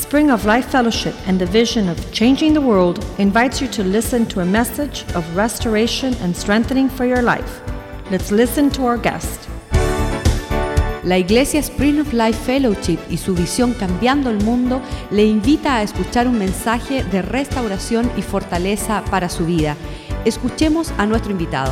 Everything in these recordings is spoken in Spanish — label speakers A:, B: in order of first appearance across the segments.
A: Spring of Life Fellowship and the vision of changing the world invites you to listen to a message of restoration and strengthening for your life. Let's listen to our guest.
B: La Iglesia Spring of Life Fellowship y su visión Cambiando el Mundo le invita a escuchar un mensaje de restauración y fortaleza para su vida. Escuchemos a nuestro invitado.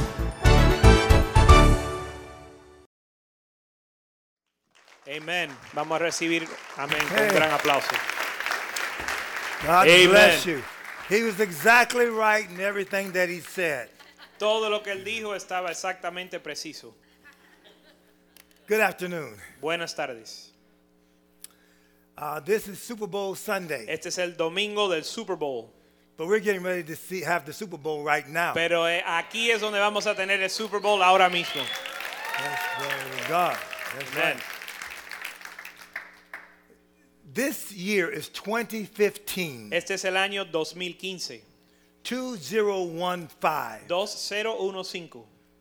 C: Amén. Vamos a recibir, amén, con un gran aplauso.
D: God
C: Amen.
D: bless you. He was exactly right in everything that he said.
C: Todo lo que él dijo estaba exactamente preciso.
D: Good afternoon.
C: Buenas tardes.
D: This is Super Bowl Sunday,
C: Este es el domingo del Super Bowl.
D: but we're getting ready to have the Super Bowl right now.
C: Pero aquí es donde vamos a tener el Super Bowl ahora mismo.
D: Yes, glory to God. That's
C: Amén.
D: right. This year is 2015,
C: Este es el año 2015.
D: 2015.
C: 2015.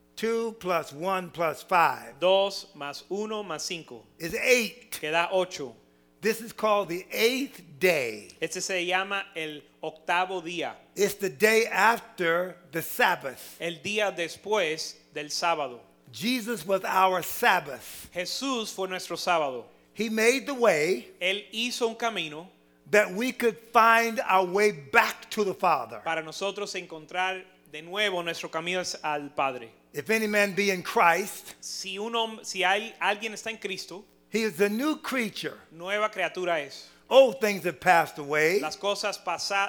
D: 2 plus 1 plus 5
C: 2 más 1 más 5.
D: is 8.
C: Que da 8.
D: This is called the 8th day.
C: Este se llama el octavo día.
D: It's the day after the Sabbath.
C: El día después del sábado.
D: Jesus was our Sabbath.
C: Jesús fue nuestro sábado.
D: He made the way
C: Él hizo un camino
D: that we could find our way back to the Father.
C: para nosotros encontrar de nuevo nuestro camino al Padre.
D: If any man be in Christ,
C: Si alguien está en Cristo,
D: he is a new creature.
C: nueva criatura es.
D: Old things have passed away.
C: Las cosas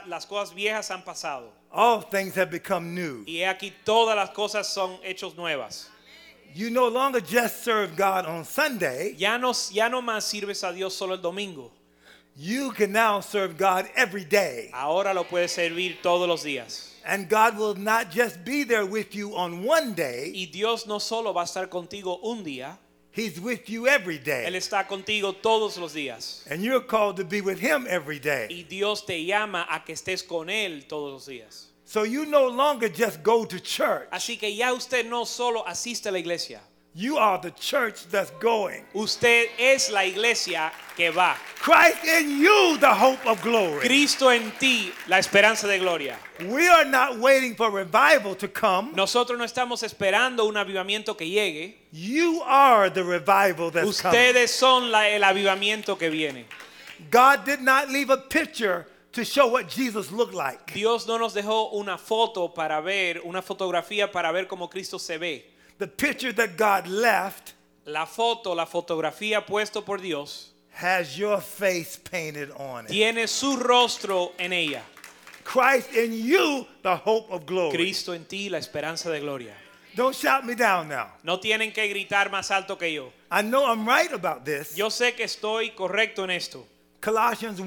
C: viejas han pasado.
D: All things have become new.
C: Y he aquí todas las cosas son hechos nuevas.
D: You no longer just serve God on Sunday.
C: Ya no más sirves a Dios solo el domingo.
D: You can now serve God every day.
C: Ahora lo puedes servir todos los días.
D: And God will not just be there with you on one day.
C: Y Dios no solo va a estar contigo un día,
D: He's with you every
C: Él
D: day.
C: está contigo todos los días.
D: And you're called to be with Him every day.
C: Y Dios te llama a que estés con Él todos los días.
D: So you no longer just go to church.
C: Así que ya usted no solo asiste a la iglesia.
D: You are the church that's going.
C: Usted es la iglesia que va.
D: Christ in you, the hope of glory.
C: Cristo en ti, la esperanza de gloria.
D: We are not waiting for revival to come.
C: Nosotros no estamos esperando un avivamiento que llegue.
D: You are the revival that's coming.
C: Ustedes son el avivamiento que viene.
D: God did not leave a picture to show what Jesus looked like.
C: Dios no nos dejó una foto para ver, una fotografía para ver cómo Cristo se ve.
D: The picture that God left
C: La fotografía puesto por Dios,
D: has your face painted on it.
C: tiene su rostro en ella.
D: Christ in you, the hope of glory.
C: Cristo en ti, la esperanza de gloria.
D: Don't shout me down now.
C: No tienen que gritar más alto que yo.
D: I know I'm right about this.
C: Yo sé que estoy correcto en esto.
D: Colossians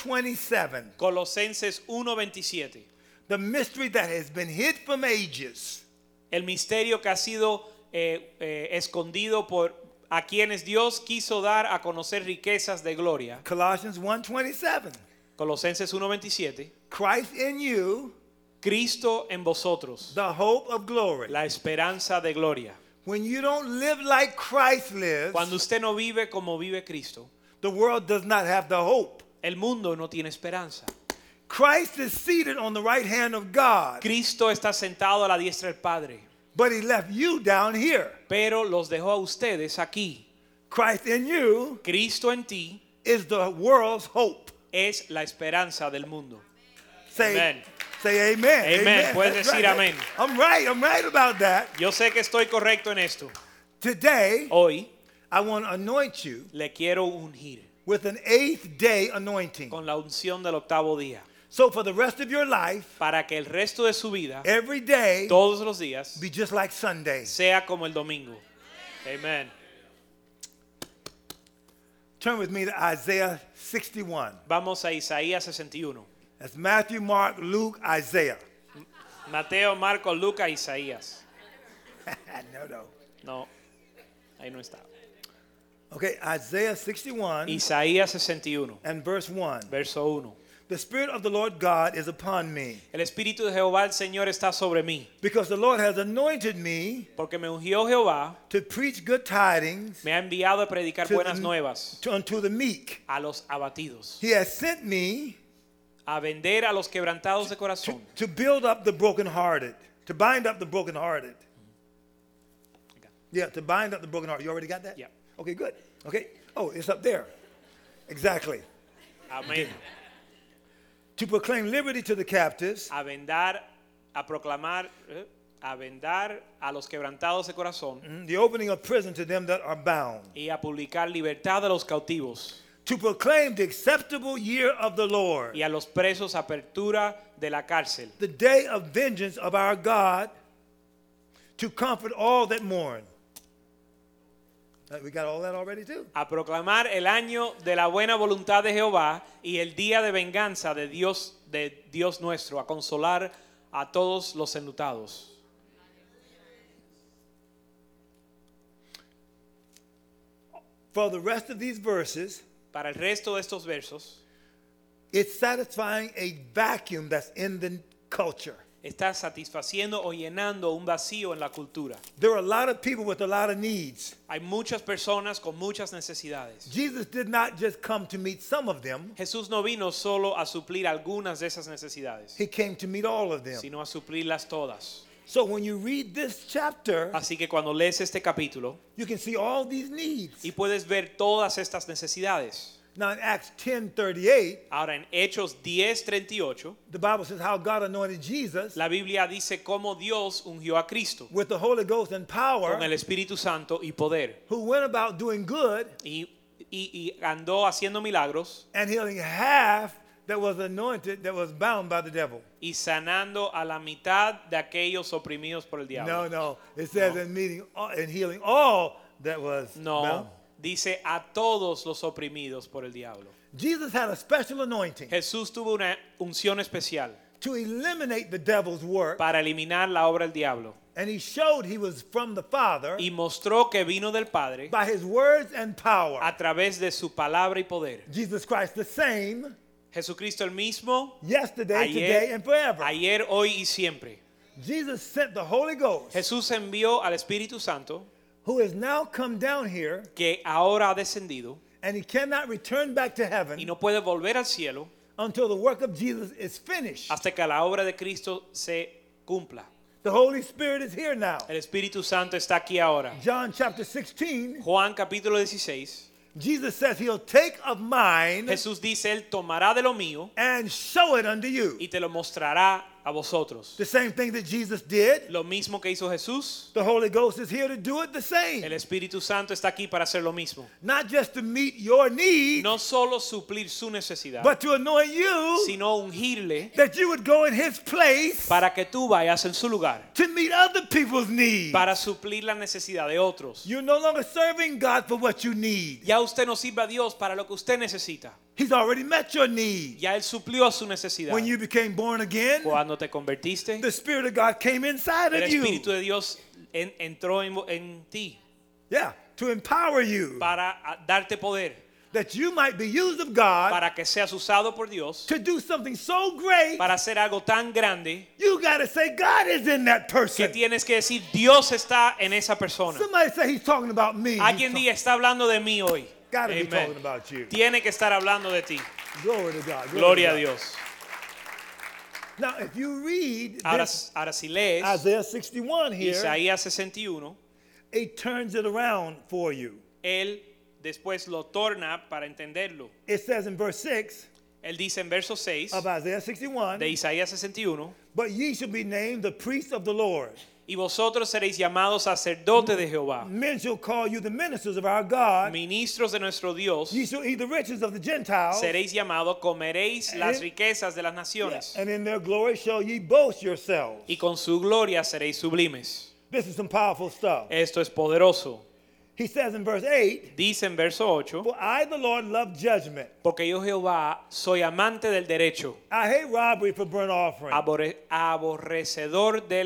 D: 1:27.
C: Colosenses 1:27.
D: The mystery that has been hid from ages.
C: El misterio que ha sido escondido por a quienes Dios quiso dar a conocer riquezas de gloria.
D: Colossians 1:27.
C: Colosenses 1:27.
D: Christ in you,
C: Cristo en vosotros,
D: the hope of glory.
C: la esperanza de gloria.
D: When you don't live like Christ lives,
C: Cuando usted no vive como vive Cristo,
D: the world does not have the hope.
C: el mundo no tiene esperanza.
D: Christ is seated on the right hand of God,
C: Cristo está sentado a la diestra del Padre,
D: but he left you down here.
C: pero los dejó a ustedes aquí.
D: Christ in you
C: Cristo en ti
D: is the world's hope.
C: es la esperanza del mundo.
D: Say,
C: Amen.
D: say amen.
C: Amen. Puedes
D: That's
C: decir amén.
D: I'm right about that.
C: Yo sé que estoy correcto en esto.
D: Today,
C: Hoy
D: I want to anoint you
C: le quiero ungir
D: with an 8th day anointing.
C: con la unción del octavo día,
D: So for the rest of your life,
C: para que el resto de su vida,
D: every day,
C: todos los días,
D: be just like Sunday.
C: sea como el domingo. Amen.
D: Turn with me to Isaiah 61.
C: Vamos a Isaías 61.
D: That's Matthew, Mark, Luke, Isaiah.
C: Mateo, Marcos, Lucas, Isaías.
D: No.
C: No, ahí no está.
D: Okay, Isaiah 61
C: Isaías 61,
D: and verse 1.
C: verso 1.
D: The Spirit of the Lord God is upon me,
C: El Espíritu de Jehová el Señor está sobre mí,
D: because the Lord has anointed me
C: porque me ungió Jehová,
D: to preach good tidings
C: me ha enviado a predicar
D: to
C: buenas nuevas
D: unto the meek.
C: a los abatidos,
D: He has sent me
C: a vender a los quebrantados de corazón,
D: to build up the brokenhearted, to bind up the brokenhearted. Yeah, to bind up the brokenhearted. You already got that?
C: Yeah.
D: Okay, good. Okay. Oh, it's up there. Exactly.
C: amén,
D: To proclaim liberty to the captives
C: a vendar, a proclamar, a vendar a los quebrantados de corazón
D: the opening of prison to them that are bound,
C: y a publicar libertad a los cautivos
D: to proclaim the acceptable year of the Lord,
C: y a los presos apertura de la cárcel,
D: the day of vengeance of our God, to comfort all that mourn. We got all that already too.
C: a proclamar el año de la buena voluntad de Jehová y el día de venganza de Dios nuestro, a consolar a todos los enlutados.
D: For the rest of these verses,
C: Para el resto de estos versos,
D: it's satisfying a vacuum that's in the culture.
C: está satisfaciendo o llenando un vacío en la cultura.
D: There are a lot of people with a lot of needs.
C: Hay muchas personas con muchas necesidades.
D: Jesus did not just come to meet some of them,
C: Jesús no vino solo a suplir algunas de esas necesidades,
D: he came to meet all of them.
C: sino a suplirlas todas.
D: So when you read this chapter,
C: Así que cuando lees este capítulo
D: you can see all these needs.
C: y puedes ver todas estas necesidades.
D: Now in Acts 10:38,
C: Ahora en Hechos 10:38,
D: the Bible says how God anointed Jesus
C: la Biblia dice cómo Dios ungió a Cristo
D: with the Holy Ghost and power,
C: con el Espíritu Santo y poder
D: who went about doing good
C: y andó haciendo milagros
D: and healing half that was anointed that was bound by the devil.
C: y sanando a la mitad de aquellos oprimidos por el diablo.
D: No. It says in healing all that was
C: No,
D: bound.
C: dice a todos los oprimidos por el diablo.
D: Jesus had a special anointing
C: Jesús tuvo una unción especial
D: to eliminate the devil's work,
C: para eliminar la obra del diablo
D: and he showed he was from the Father
C: y mostró que vino del Padre
D: by his words and power.
C: a través de su palabra y poder.
D: Jesus Christ the same
C: Jesucristo el mismo
D: yesterday, today, and forever.
C: ayer, hoy y siempre.
D: Jesus sent the Holy Ghost,
C: Jesús envió al Espíritu Santo
D: who has now come down here,
C: que ahora ha descendido
D: and he cannot return back to heaven
C: y no puede volver al cielo
D: until the work of Jesus is finished.
C: hasta que la obra de Cristo se cumpla.
D: The Holy Spirit is here now.
C: El Espíritu Santo está aquí ahora.
D: John chapter 16,
C: Juan capítulo 16,
D: Jesus says he'll take of mine
C: Jesús dice, Él tomará de lo mío
D: and show it unto you.
C: y te lo mostrará a vosotros.
D: The same thing that Jesus did.
C: Lo mismo que hizo Jesús,
D: The Holy Ghost is here to do it the same.
C: el Espíritu Santo está aquí para hacer lo mismo.
D: Not just to meet your needs,
C: No solo suplir su necesidad,
D: but to anoint you
C: sino ungirle
D: that you would go in his place
C: para que tú vayas en su lugar,
D: to meet other people's needs.
C: para suplir la necesidad de otros.
D: You're no longer serving God for what you need.
C: Ya usted no sirve a Dios para lo que usted necesita.
D: He's already met your need.
C: Ya Él suplió a su necesidad.
D: When you became born again,
C: Cuando te convertiste,
D: the Spirit of God came inside
C: el
D: of you.
C: Espíritu de Dios entró en ti
D: Yeah, to empower you
C: para darte poder,
D: that you might be used of God
C: para que seas usado por Dios,
D: to do something so great.
C: para hacer algo tan grande
D: You got to say God is in that
C: que
D: person.
C: tienes que decir, Dios está en esa persona.
D: Somebody say he's talking about me.
C: Alguien diga, está hablando de mí hoy.
D: Got to be
C: Amen.
D: talking about you.
C: Tiene que estar hablando de ti.
D: Glory to God.
C: Gloria a
D: to God.
C: Dios.
D: Now, if you read
C: Ahora,
D: this,
C: ahora si lees
D: Isaiah 61 here,
C: Isaías 61,
D: it turns it around for you.
C: Él después lo torna para entenderlo.
D: It says in verse 6
C: Él dice en verso 6
D: of Isaiah 61,
C: de Isaías 61,
D: but ye shall be named the priests of the Lord.
C: y vosotros seréis llamados sacerdotes de Jehová,
D: Men shall call you the ministers of our God.
C: ministros de nuestro Dios.
D: Ye shall eat the riches of the Gentiles,
C: Seréis llamados, comeréis las riquezas de las naciones,
D: and in their glory shall ye boast yourselves.
C: y con su gloria seréis sublimes.
D: This is some powerful stuff.
C: Esto es poderoso.
D: He says in verse 8,
C: Dice en verso 8,
D: for I, the Lord, love judgment.
C: porque yo Jehová soy amante del derecho,
D: I hate robbery for burnt offering.
C: aborrecedor del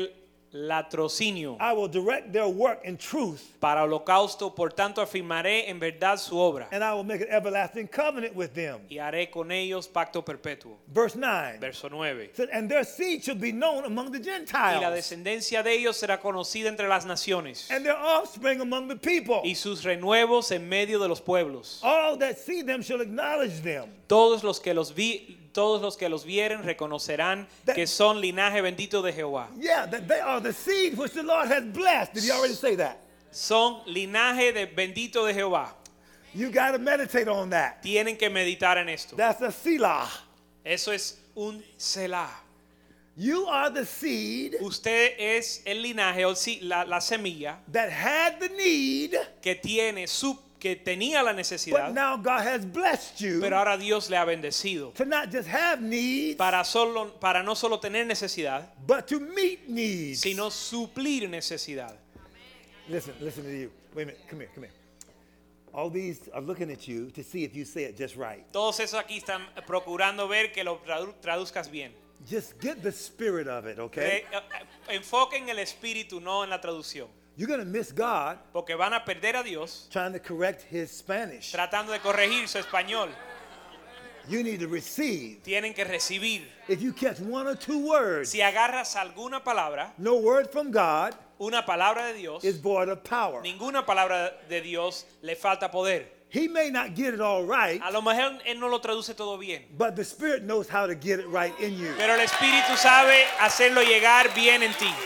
C: latrocinio.
D: I will direct their work in truth,
C: Para holocausto, por tanto, afirmaré en verdad su obra.
D: and I will make an everlasting covenant with them.
C: Y haré con ellos pacto perpetuo.
D: Verse 9.
C: Verso 9.
D: Said, and their seed shall be known among the
C: Y la
D: Gentiles,
C: descendencia de ellos será conocida entre las naciones.
D: and their offspring among the people.
C: Y sus renuevos en medio de los pueblos.
D: All that see them shall acknowledge them.
C: Todos los que los vieren reconocerán que son linaje bendito de Jehová.
D: Yeah, that they are the seed which the Lord has blessed. Did he already say that?
C: Son linaje de bendito de Jehová.
D: You got to meditate on that.
C: Tienen que meditar en esto.
D: That's a selah.
C: Eso es un selah.
D: You are the seed
C: Usted es el linaje o la semilla
D: that had the need,
C: que tenía la
D: but
C: necesidad,
D: now God has blessed you
C: pero ahora Dios le ha bendecido
D: to not just have needs,
C: para no solo tener necesidad,
D: but to meet needs.
C: sino suplir necesidad.
D: Listen to you. Wait a minute. Come here. All these are looking at you to see if you say it just right.
C: Todos esos aquí están procurando ver que lo traduzcas bien.
D: Just get the spirit of it, okay?
C: Enfoquen el espíritu, no en la traducción.
D: You're going to miss God
C: Porque van a perder a Dios
D: trying to correct his Spanish.
C: tratando de corregir su español.
D: You need to receive.
C: Tienen que recibir.
D: If you catch one or two words,
C: Si agarras alguna palabra,
D: no word from God
C: una palabra de Dios,
D: is void of power.
C: ninguna palabra de Dios le falta poder.
D: He may not get it all right,
C: A lo mejor él no lo traduce todo bien,
D: but the Spirit knows how to get it right in you.
C: pero el Espíritu sabe hacerlo llegar bien en ti.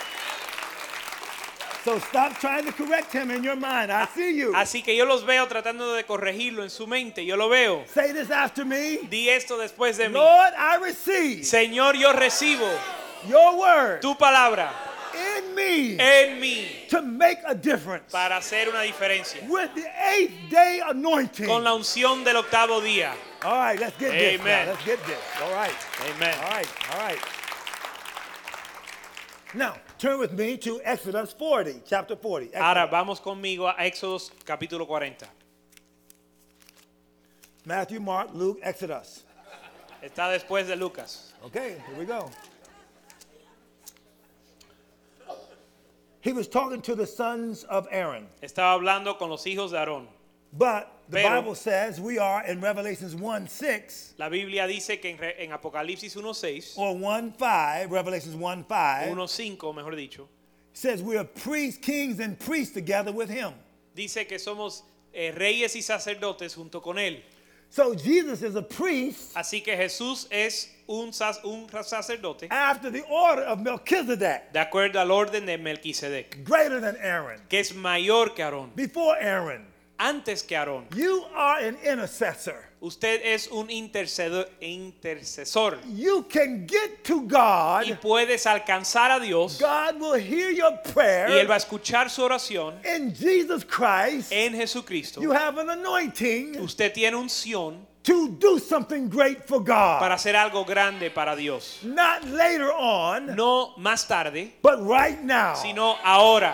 D: So stop trying to correct him in your mind. I see you.
C: Así que yo los veo tratando de corregirlo en su mente. Yo lo veo.
D: Say this after me.
C: Di esto después de mí.
D: Lord, I receive
C: Señor, yo recibo
D: your word
C: tu palabra
D: in me
C: en mí
D: to make a difference.
C: para hacer una diferencia.
D: With the 8th day anointing.
C: Con la unción del octavo día.
D: All right, let's get this.
C: Amen.
D: Now. Let's get this. All right.
C: Amen.
D: All right. Now, turn with me to Exodus 40, chapter 40.
C: Ahora
D: Exodus.
C: vamos conmigo a Éxodo capítulo 40.
D: Matthew, Mark, Luke, Exodus.
C: Está después de Lucas.
D: Okay, here we go. He was talking to the sons of Aaron.
C: Estaba hablando con los hijos de Aarón.
D: But the
C: Pero-
D: Bible says we are in Revelations 1:6
C: La Biblia dice que en Apocalipsis 1:6,
D: or 1:5, Revelations 1:5,
C: 1:5 mejor dicho,
D: says we are priests, kings, and priests together with him.
C: dice que somos reyes y sacerdotes junto con él.
D: So Jesus is a priest
C: Así que Jesús es un sacerdote
D: after the order of Melchizedek,
C: de acuerdo al orden de Melquisedec,
D: greater than Aaron,
C: que es mayor que Aarón,
D: before Aaron.
C: antes que Aarón.
D: You are an intercessor.
C: Usted es un intercesor
D: You can get to
C: y
D: God.
C: puedes alcanzar a Dios
D: God will hear your
C: y
D: prayer.
C: él va a escuchar su oración
D: In Jesus Christ,
C: en Jesucristo.
D: you have an anointing
C: Usted tiene unción
D: to do something great for
C: para
D: God.
C: hacer algo grande para Dios.
D: Not later on,
C: No más tarde,
D: but right now.
C: sino ahora.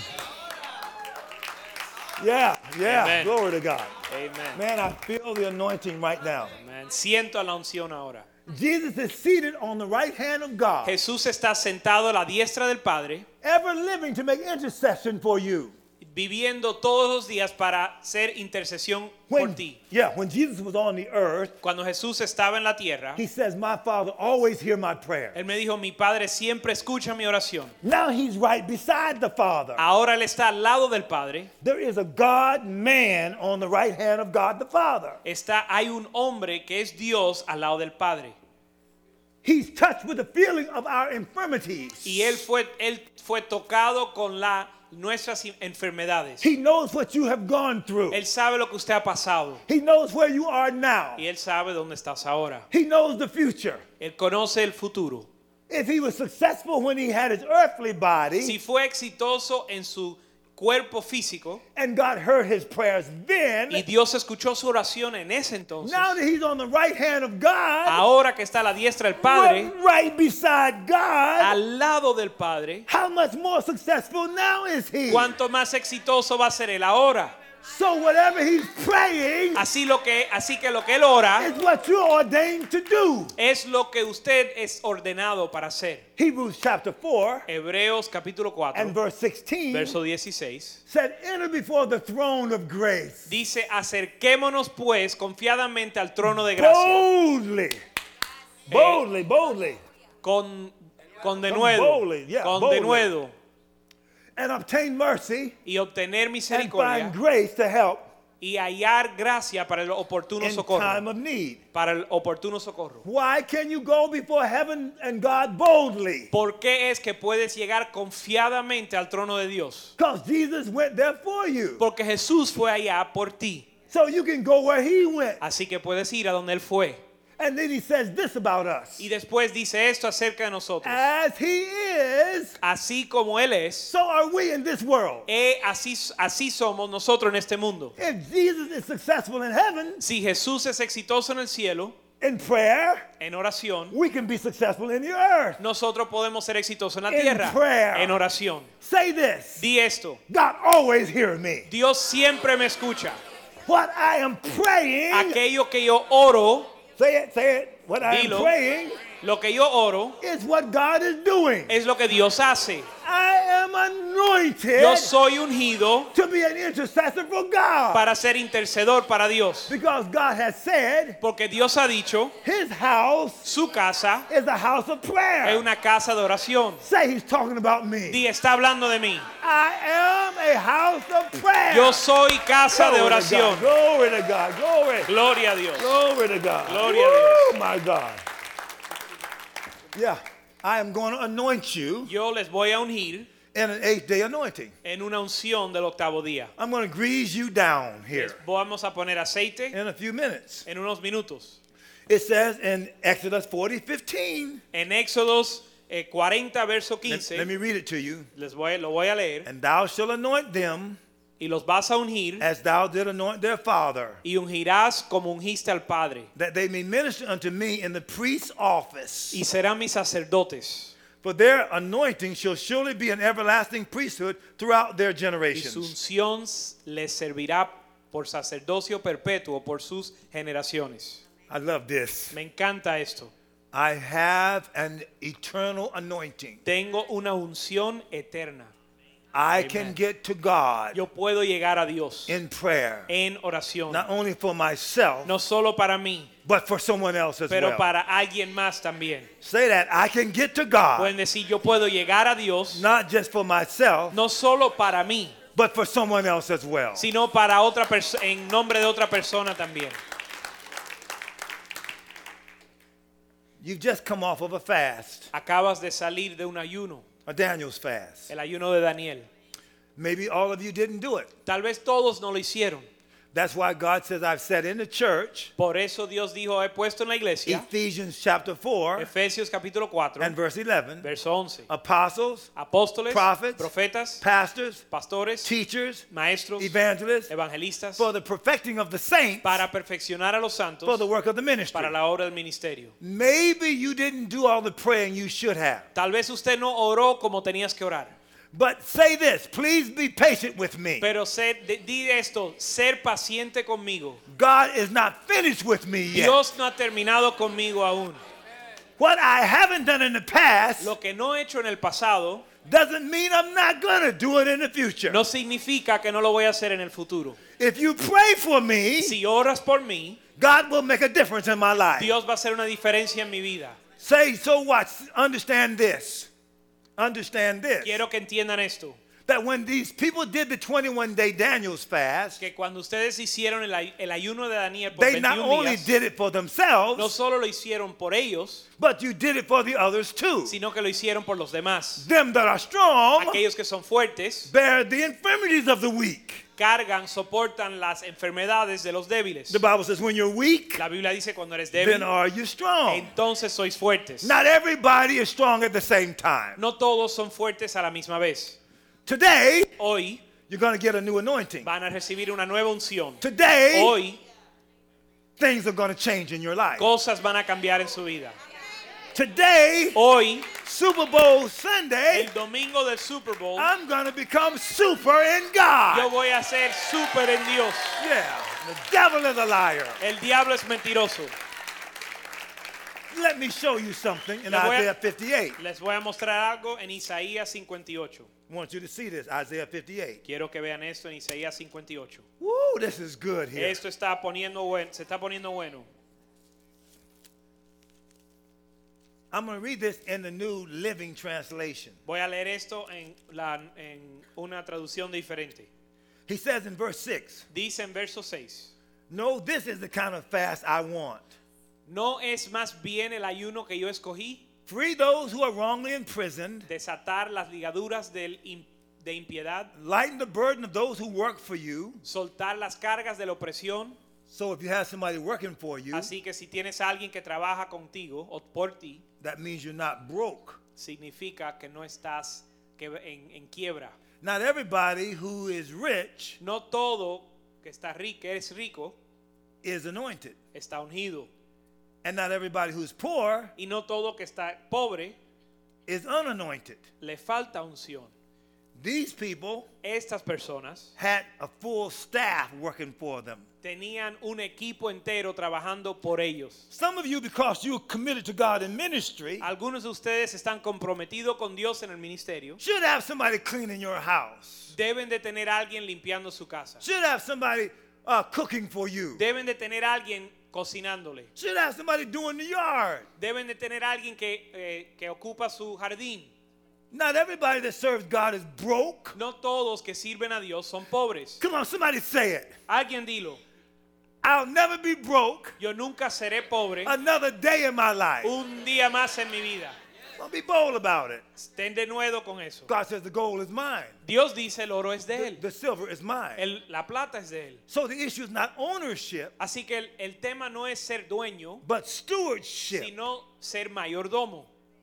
D: Yeah.
C: Amen.
D: Glory to God.
C: Amen.
D: Man, I feel the anointing right now.
C: Amen. Siento la unción ahora.
D: Jesus is seated on the right hand of God,
C: Jesús está sentado a la diestra del Padre,
D: ever living to make intercession for you.
C: viviendo todos los días para hacer intercesión por ti.
D: When Jesus was on the earth,
C: Cuando Jesús estaba en la tierra,
D: he says, my Father always hear my prayer.
C: él me dijo, mi Padre siempre escucha mi oración.
D: Now he's right beside the Father.
C: Ahora él está al lado del Padre.
D: There is a God-man on the right hand of God the Father.
C: Hay un hombre que es Dios al lado del Padre.
D: He's touched with the feeling of our infirmities.
C: Y él fue tocado con nuestras enfermedades.
D: He knows what you have gone through.
C: Él sabe lo que usted ha pasado.
D: He knows where you are now.
C: Y él sabe dónde estás ahora.
D: He knows the future.
C: Él conoce el futuro.
D: If he was successful when he had his earthly body,
C: Si fue exitoso en su cuerpo físico
D: and God heard his prayers then,
C: y Dios escuchó su oración en ese entonces,
D: now that he's on the right hand of God,
C: ahora que está a la diestra del Padre,
D: right beside God,
C: al lado del Padre,
D: how much more successful now is he?
C: ¿cuánto más exitoso va a ser él ahora?
D: So whatever he's praying,
C: Así que lo que él ora
D: is what you're ordained to do.
C: es lo que usted es ordenado para hacer.
D: Hebrews chapter 4
C: Hebreos capítulo 4,
D: and verse 16
C: verso 16.
D: said, enter before the throne of grace.
C: Dice, acerquémonos pues confiadamente al trono de gracia.
D: Boldly.
C: Con
D: boldly,
C: denuedo.
D: And obtain mercy
C: Y obtener
D: and
C: misericordia
D: find grace to help
C: y hallar gracia para el oportuno
D: in
C: socorro.
D: time of need.
C: Para el oportuno socorro.
D: Why can you go before heaven and God boldly?
C: ¿Por qué es que puedes llegar confiadamente al trono de Dios?
D: Because Jesus went there for you.
C: Porque Jesús fue allá por ti.
D: So you can go where he went.
C: Así que puedes ir a donde él fue.
D: And then he says this about us.
C: Y después dice esto acerca de nosotros.
D: As he is,
C: Así como él es,
D: so are we in this world.
C: así somos nosotros en este mundo.
D: If Jesus is successful in heaven,
C: Si Jesús es exitoso en el cielo,
D: in prayer,
C: en oración,
D: we can be successful in the earth.
C: nosotros podemos ser exitosos en la
D: In
C: tierra,
D: prayer.
C: en oración.
D: Say this.
C: Di esto,
D: God always hears me.
C: Dios siempre me escucha.
D: What I am praying,
C: Aquello que yo oro,
D: say it. What I am
C: Dilo.
D: praying
C: lo que yo oro,
D: is what God is doing.
C: es lo que Dios hace.
D: I am anointed
C: Yo soy ungido
D: to be an intercessor for God.
C: para ser intercedor para Dios.
D: Because God has said
C: Porque Dios ha dicho,
D: his house
C: su casa
D: is a house of prayer.
C: es una casa de oración.
D: Say he's talking about me.
C: Di, está hablando de mí.
D: I am a house of prayer.
C: Yo soy casa de
D: Glory to
C: oración.
D: God. Glory to God. Glory.
C: Gloria a Dios.
D: Glory to God.
C: Gloria a Dios.
D: Oh my God. Yeah. I am going to anoint you
C: Yo les voy a ungir
D: in an 8th-day anointing.
C: en una unción del octavo día.
D: I'm going to grease you down
C: Les
D: here
C: vamos a poner aceite
D: in a few minutes.
C: en unos minutos.
D: It says in Exodus 40:15.
C: En Éxodos 40, verso
D: Let
C: 15,
D: me read it to you.
C: lo voy a leer.
D: And thou shalt anoint them
C: Y los vas a ungir
D: as thou did anoint their father,
C: y ungirás como ungiste al Padre.
D: that they may minister unto me in the priest's office.
C: Y serán mis sacerdotes.
D: For their anointing shall surely be an everlasting priesthood throughout their
C: Y su
D: generations.
C: unción les servirá por sacerdocio perpetuo por sus generaciones.
D: I love this.
C: Me encanta esto.
D: I have an eternal anointing.
C: Tengo una unción eterna.
D: I
C: Amen.
D: can get to God
C: Yo puedo llegar a Dios
D: in prayer,
C: en oración.
D: not only for myself,
C: No solo para mí,
D: but for someone else as
C: pero
D: well.
C: para alguien más también.
D: Say that. I can get to God,
C: Pueden decir, yo puedo llegar a Dios
D: not just for myself,
C: no solo para mí,
D: but for someone else as well.
C: sino para otra persona, en nombre de otra persona también.
D: You've just come off of a fast,
C: Acabas de salir de un ayuno,
D: a Daniel's fast.
C: el ayuno de Daniel.
D: Maybe all of you didn't do it.
C: Tal vez todos no lo hicieron.
D: That's why God says, I've said in the church,
C: Por eso Dios dijo, he puesto en la iglesia,
D: Ephesians chapter 4
C: Efesios capítulo 4,
D: and verse 11,
C: verso 11.
D: apostles,
C: Apóstoles,
D: prophets,
C: profetas,
D: pastors,
C: pastores,
D: teachers,
C: maestros,
D: evangelists,
C: evangelistas,
D: for the perfecting of the saints,
C: para perfeccionar a los santos,
D: for the work of the ministry.
C: para la obra del ministerio.
D: Maybe you didn't do all the praying you should have.
C: Tal vez usted no oró como tenías que orar,
D: But say this, please be patient with me.
C: pero di esto, ser paciente conmigo.
D: God is not finished with me yet.
C: Dios no ha terminado conmigo aún.
D: What I haven't done in the past
C: Lo que no he hecho en el pasado
D: doesn't mean I'm not going to do it in the future.
C: no significa que no lo voy a hacer en el futuro.
D: If you pray for me,
C: Si oras por mí,
D: God will make a difference in my life.
C: Dios va a hacer una diferencia en mi vida.
D: Say, so what? Understand this. Understand this.
C: Quiero que entiendan esto,
D: That when these people did the 21-day Daniel's fast,
C: que cuando ustedes hicieron el ayuno de Daniel por
D: they not
C: 21
D: only
C: días,
D: did it for
C: no
D: themselves,
C: solo lo hicieron por ellos,
D: but you did it for the others too.
C: sino que lo hicieron por los demás.
D: Them that are strong
C: Aquellos que son fuertes
D: bear the infirmities of the weak.
C: cargan, soportan las enfermedades de los débiles.
D: The Bible says when you're weak,
C: La Biblia dice cuando eres
D: then
C: débil,
D: are you strong.
C: entonces sois fuertes.
D: Not everybody is strong at the same time.
C: No todos son fuertes a la misma vez.
D: Today,
C: Hoy
D: you're going to get a new anointing.
C: van a recibir una nueva unción.
D: Today,
C: Hoy
D: things are going to change in your life.
C: cosas van a cambiar en su vida.
D: Today,
C: Hoy,
D: Super Bowl Sunday,
C: el domingo del Super Bowl,
D: I'm going to become super in
C: yo
D: God.
C: voy a ser súper en Dios.
D: Yeah, The devil is a liar.
C: El diablo es mentiroso.
D: Let me show you something in
C: Les voy a-
D: Isaiah 58.
C: Les voy a mostrar algo en Isaías 58.
D: I want you to see this, Isaiah 58.
C: Quiero que vean esto en Isaías 58.
D: Woo, this is good here.
C: Esto se está poniendo bueno.
D: I'm going to read this in the New Living Translation.
C: Voy a leer esto en una traducción diferente.
D: He says in verse 6,
C: Dice en verso 6.
D: no, this is the kind of fast I want.
C: ¿No es más bien el ayuno que yo escogí?
D: Free those who are wrongly imprisoned,
C: Desatar las ligaduras de impiedad,
D: lighten the burden of those who work for you.
C: soltar las cargas de la opresión.
D: So if you have somebody working for you,
C: Así que si tienes a alguien que trabaja contigo o por ti,
D: that means you're not broke.
C: significa que no estás en quiebra.
D: Not everybody who is rich
C: No todo que está rico, eres rico,
D: is anointed.
C: está ungido.
D: And not everybody who's poor
C: Y no todo que está pobre,
D: is unanointed.
C: le falta unción.
D: These people
C: Estas personas
D: had a full staff working for them.
C: tenían un equipo entero trabajando por ellos.
D: Some of you, because you're committed to God in ministry,
C: Algunos de ustedes están comprometidos con Dios en el ministerio.
D: should have somebody cleaning your house.
C: Deben de tener a alguien limpiando su casa.
D: Should have somebody cooking for you.
C: Deben de tener a alguien cocinándole.
D: Should have somebody doing the yard.
C: Deben de tener a alguien que ocupa su jardín.
D: Not everybody that serves God is broke.
C: No todos que sirven a Dios son pobres.
D: Come on, somebody say it.
C: Alguien dilo.
D: I'll never be broke
C: Yo nunca seré pobre
D: another day in my life.
C: un día más en mi vida.
D: Don't be bold about it.
C: Estén de nuevo con eso.
D: God says the gold is mine.
C: Dios dice el oro es de él.
D: The silver is mine.
C: La plata es de él.
D: So the issue is not ownership,
C: Así que el tema no es ser dueño,
D: but stewardship.
C: sino ser mayordomo.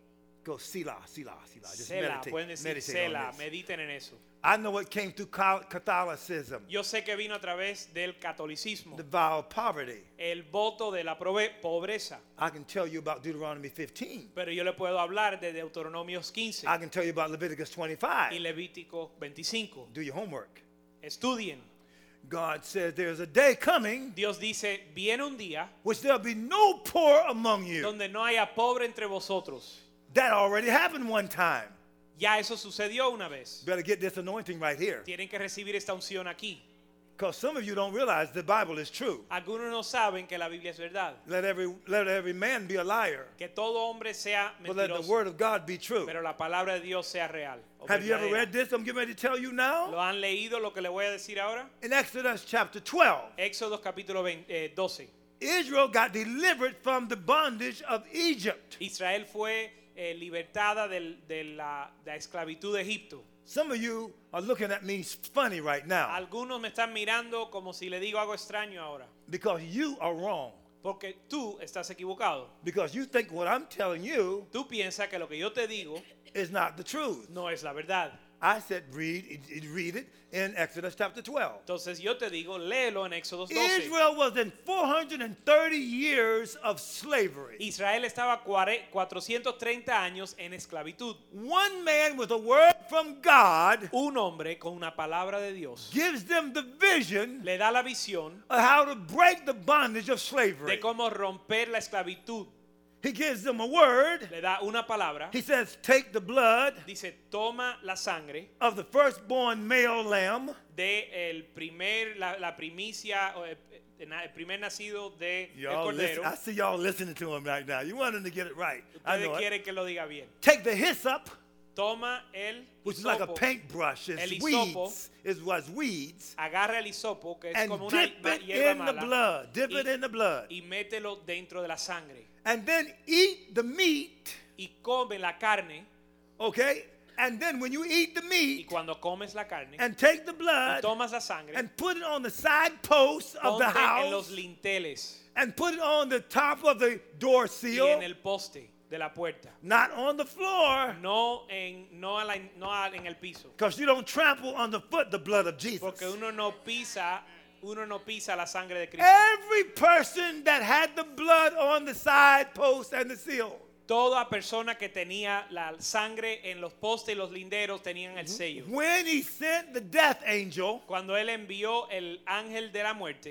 D: Go Selah, Selah, Selah. Just
C: Sela, pueden decir
D: meditate
C: Sela,
D: on this.
C: mediten en eso.
D: I know it came through Catholicism,
C: Yo sé que vino a través del catolicismo,
D: the vow of poverty.
C: el voto de la pobreza.
D: I can tell you about Deuteronomy 15.
C: Pero yo le puedo hablar de Deuteronomios 15
D: I can tell you about Leviticus
C: y
D: 25.
C: Levítico 25.
D: Do your homework.
C: Estudien.
D: God says there's a day coming
C: Dios dice, viene un día
D: which there'll be no poor among you.
C: donde no haya pobre entre vosotros.
D: That already happened one time.
C: Ya eso sucedió una vez.
D: Better get this anointing right here.
C: Tienen que recibir esta unción aquí.
D: Because some of you don't realize the Bible is true.
C: Algunos no saben que la Biblia es verdad.
D: Let every man be a liar,
C: Que todo hombre sea
D: but let the
C: mentiroso.
D: word of God be true.
C: Pero la palabra de Dios sea real. O
D: Have you ever
C: verdadera.
D: read this? I'm getting ready to tell you
C: ¿Lo
D: now.
C: han leído lo que le voy a decir ahora?
D: In Exodus chapter 12,
C: Éxodo capítulo 12.
D: Israel got delivered from the bondage of Egypt.
C: Israel fue libertada de la esclavitud de Egipto.
D: Some of you are looking at me funny right now
C: Algunos me están mirando como si le digo algo extraño ahora.
D: because you are wrong.
C: Porque tú estás equivocado.
D: Because you think what I'm telling you
C: Tú piensas que lo que yo te digo
D: is not the truth.
C: no es la verdad.
D: I said read it in Exodus chapter 12.
C: Entonces yo te digo, léelo en Éxodo 12.
D: Israel was in 430 years of slavery.
C: Israel estaba 430 años en esclavitud.
D: One man with a word from God
C: Un hombre con una palabra de Dios
D: gives them the vision
C: le da la visión
D: of how to break the bondage of slavery.
C: de cómo romper la esclavitud.
D: He gives them a word.
C: Le da una palabra.
D: He says, take the blood
C: Dice, toma la sangre
D: of the firstborn male lamb
C: de la primicia, o el primer nacido de el
D: Y'all
C: cordero.
D: listen, I see y'all listening to him right now. You want him to get it right. I
C: Ustedes
D: know it.
C: quieren que lo diga bien.
D: Take the hyssop,
C: Toma el
D: which is like a
C: hisopo,
D: paintbrush.
C: El
D: It's
C: hisopo.
D: weeds. It was weeds.
C: agarra el hisopo, que es
D: And
C: como una
D: dip it
C: hierba
D: in the
C: mala,
D: blood. Dip
C: y-
D: it in the blood.
C: y mételo dentro de la sangre.
D: And then eat the meat,
C: Y come la carne,
D: okay? And then when you eat the
C: y
D: meat
C: cuando comes la carne,
D: and take the
C: y
D: blood
C: tomas la sangre,
D: and put it on the side posts of the
C: ponte en los
D: house
C: linteles
D: and put it on the top of the door
C: y
D: seal,
C: en el poste de la puerta.
D: not on the floor,
C: No en el piso.
D: because you don't trample underfoot the blood of Jesus.
C: Porque uno no pisa la sangre de Cristo.
D: Every person that had the blood on the side post and the seal
C: Toda persona que tenía la sangre en los postes y los linderos tenían el sello.
D: when he sent the death angel,
C: Cuando él envió el ángel de la muerte,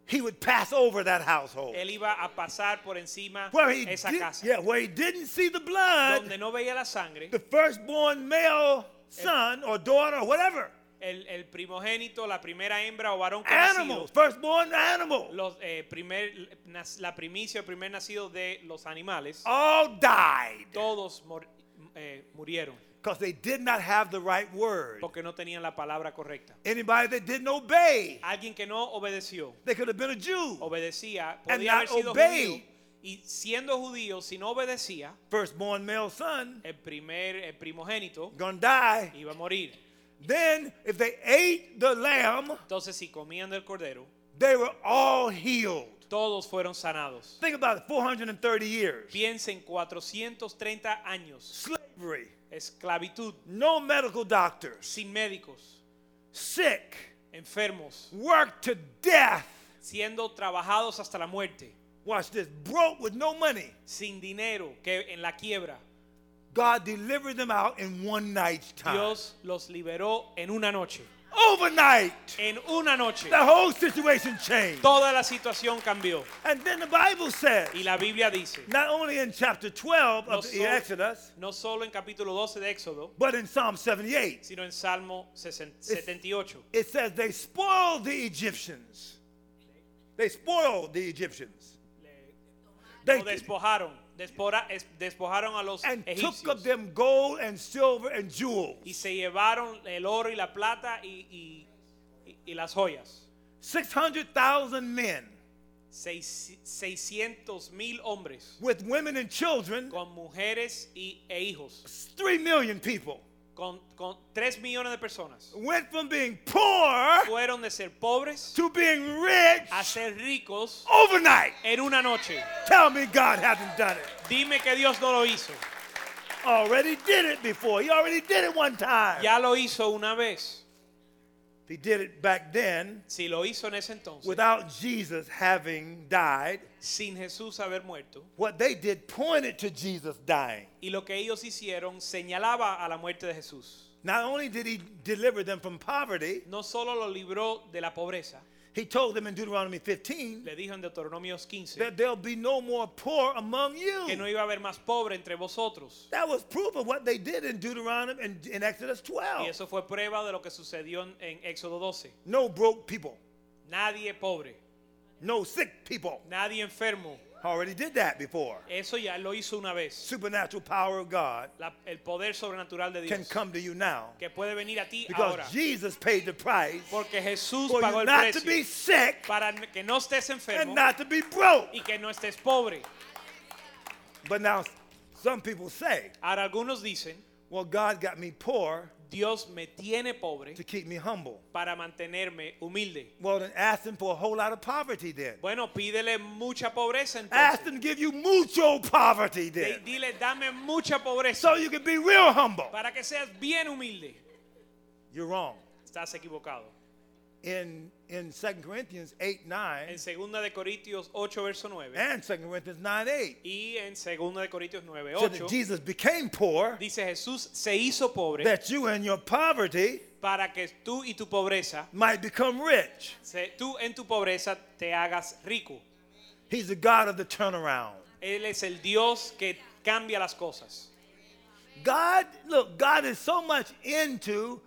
D: he would pass over that household.
C: Él iba a pasar por encima
D: Where he,
C: esa
D: did,
C: casa.
D: yeah, where he didn't see the blood,
C: Donde no veía la sangre,
D: the firstborn male son or daughter or whatever,
C: el primogénito, la primera hembra o varón
D: animals,
C: conocido,
D: firstborn animal,
C: la primicia, el primer nacido de los animales,
D: all died
C: todos murieron
D: because they did not have the right word.
C: porque no tenían la palabra correcta.
D: Anybody that didn't obey,
C: Alguien que no obedeció,
D: they could have been a Jew.
C: obedecía,
D: And
C: podía haber
D: not
C: sido
D: obey.
C: judío, y siendo judío, si no obedecía,
D: Firstborn male son
C: el primogénito
D: gonna die.
C: iba a morir.
D: Then, if they ate the lamb,
C: Entonces, si comían del cordero,
D: they were all healed.
C: todos fueron sanados.
D: Think about it, 430 years.
C: Piensen 430 años,
D: Slavery,
C: esclavitud,
D: no medical doctors,
C: sin médicos,
D: sick,
C: enfermos,
D: worked to death.
C: siendo trabajados hasta la muerte,
D: Watch this, broke with no money.
C: sin dinero, que en la quiebra.
D: God delivered them out in one night's time.
C: Dios los liberó en una noche.
D: Overnight,
C: En una noche,
D: the whole situation changed.
C: toda la situación cambió.
D: And then the Bible says,
C: Y la Biblia dice,
D: not only in chapter 12
C: no,
D: of the Exodus,
C: no solo en capítulo 12 de Éxodo,
D: but in Psalm 78,
C: sino en Salmo 78.
D: it says they spoiled the Egyptians. They spoiled the Egyptians. They,
C: Lo despojaron a los
D: and took
C: egipcios.
D: of them gold and silver and jewels.
C: Y se llevaron el oro y la plata y las joyas.
D: 600,000 men
C: 600,000 hombres
D: with women and children,
C: con mujeres e hijos,
D: 3 million people,
C: con 3 millones de personas.
D: went from being poor
C: Fueron de ser pobres
D: to being rich
C: a ser ricos
D: overnight.
C: en una noche.
D: Tell me God hasn't done it.
C: Dime que Dios no lo hizo.
D: Already did it before. He already did it one time.
C: Ya lo hizo una vez.
D: He did it back then
C: Si lo hizo en ese entonces,
D: without Jesus having died.
C: sin Jesús haber muerto.
D: What they did pointed to Jesus dying.
C: Y lo que ellos hicieron señalaba a la muerte de Jesús.
D: Not only did he deliver them from poverty,
C: No solo lo libró de la pobreza,
D: he told them in Deuteronomy 15
C: le dijo en Deuteronomio 15
D: that there'll be no more poor among
C: que no
D: you.
C: iba a haber más pobre entre vosotros.
D: That was proof of what they did in Deuteronomy and in Exodus
C: Y
D: 12.
C: eso fue prueba de lo que sucedió en Éxodo 12.
D: No broke people,
C: Nadie pobre,
D: no sick people.
C: nadie enfermo.
D: Already did that before.
C: Eso ya lo hizo una vez.
D: Supernatural power of God
C: El poder sobrenatural de
D: can
C: Dios
D: come to you now
C: que puede venir a ti
D: because
C: ahora.
D: Jesus paid the price
C: Porque Jesús
D: for
C: pagó
D: you
C: el
D: not to be
C: precio
D: sick
C: para que no estés
D: and
C: enfermo
D: not to be broke.
C: y que no estés pobre.
D: But now some people say,
C: Ahora algunos dicen,
D: well, God got me poor
C: Dios me tiene pobre
D: to keep me humble.
C: para mantenerme humilde.
D: Well, then ask him for a whole lot of poverty then.
C: Bueno, pídele mucha pobreza
D: Ask
C: entonces.
D: him to give you mucho poverty then.
C: Dile, dame mucha pobreza
D: So you can be real humble.
C: para que seas bien humilde.
D: You're wrong.
C: Estás equivocado.
D: In 2 Corinthians 8:9
C: En 2 de Corintios 8 verso 9
D: and 2 Corinthians 9:8,
C: y en 2 de Corintios 9
D: said
C: 8
D: that Jesus became poor
C: dice Jesús se hizo pobre
D: that you and your poverty
C: para que tú y tu pobreza,
D: might become rich.
C: tú en tu pobreza te hagas rico.
D: He's the God of the turnaround.
C: Él es el Dios que cambia las cosas.
D: God, look, God is so much into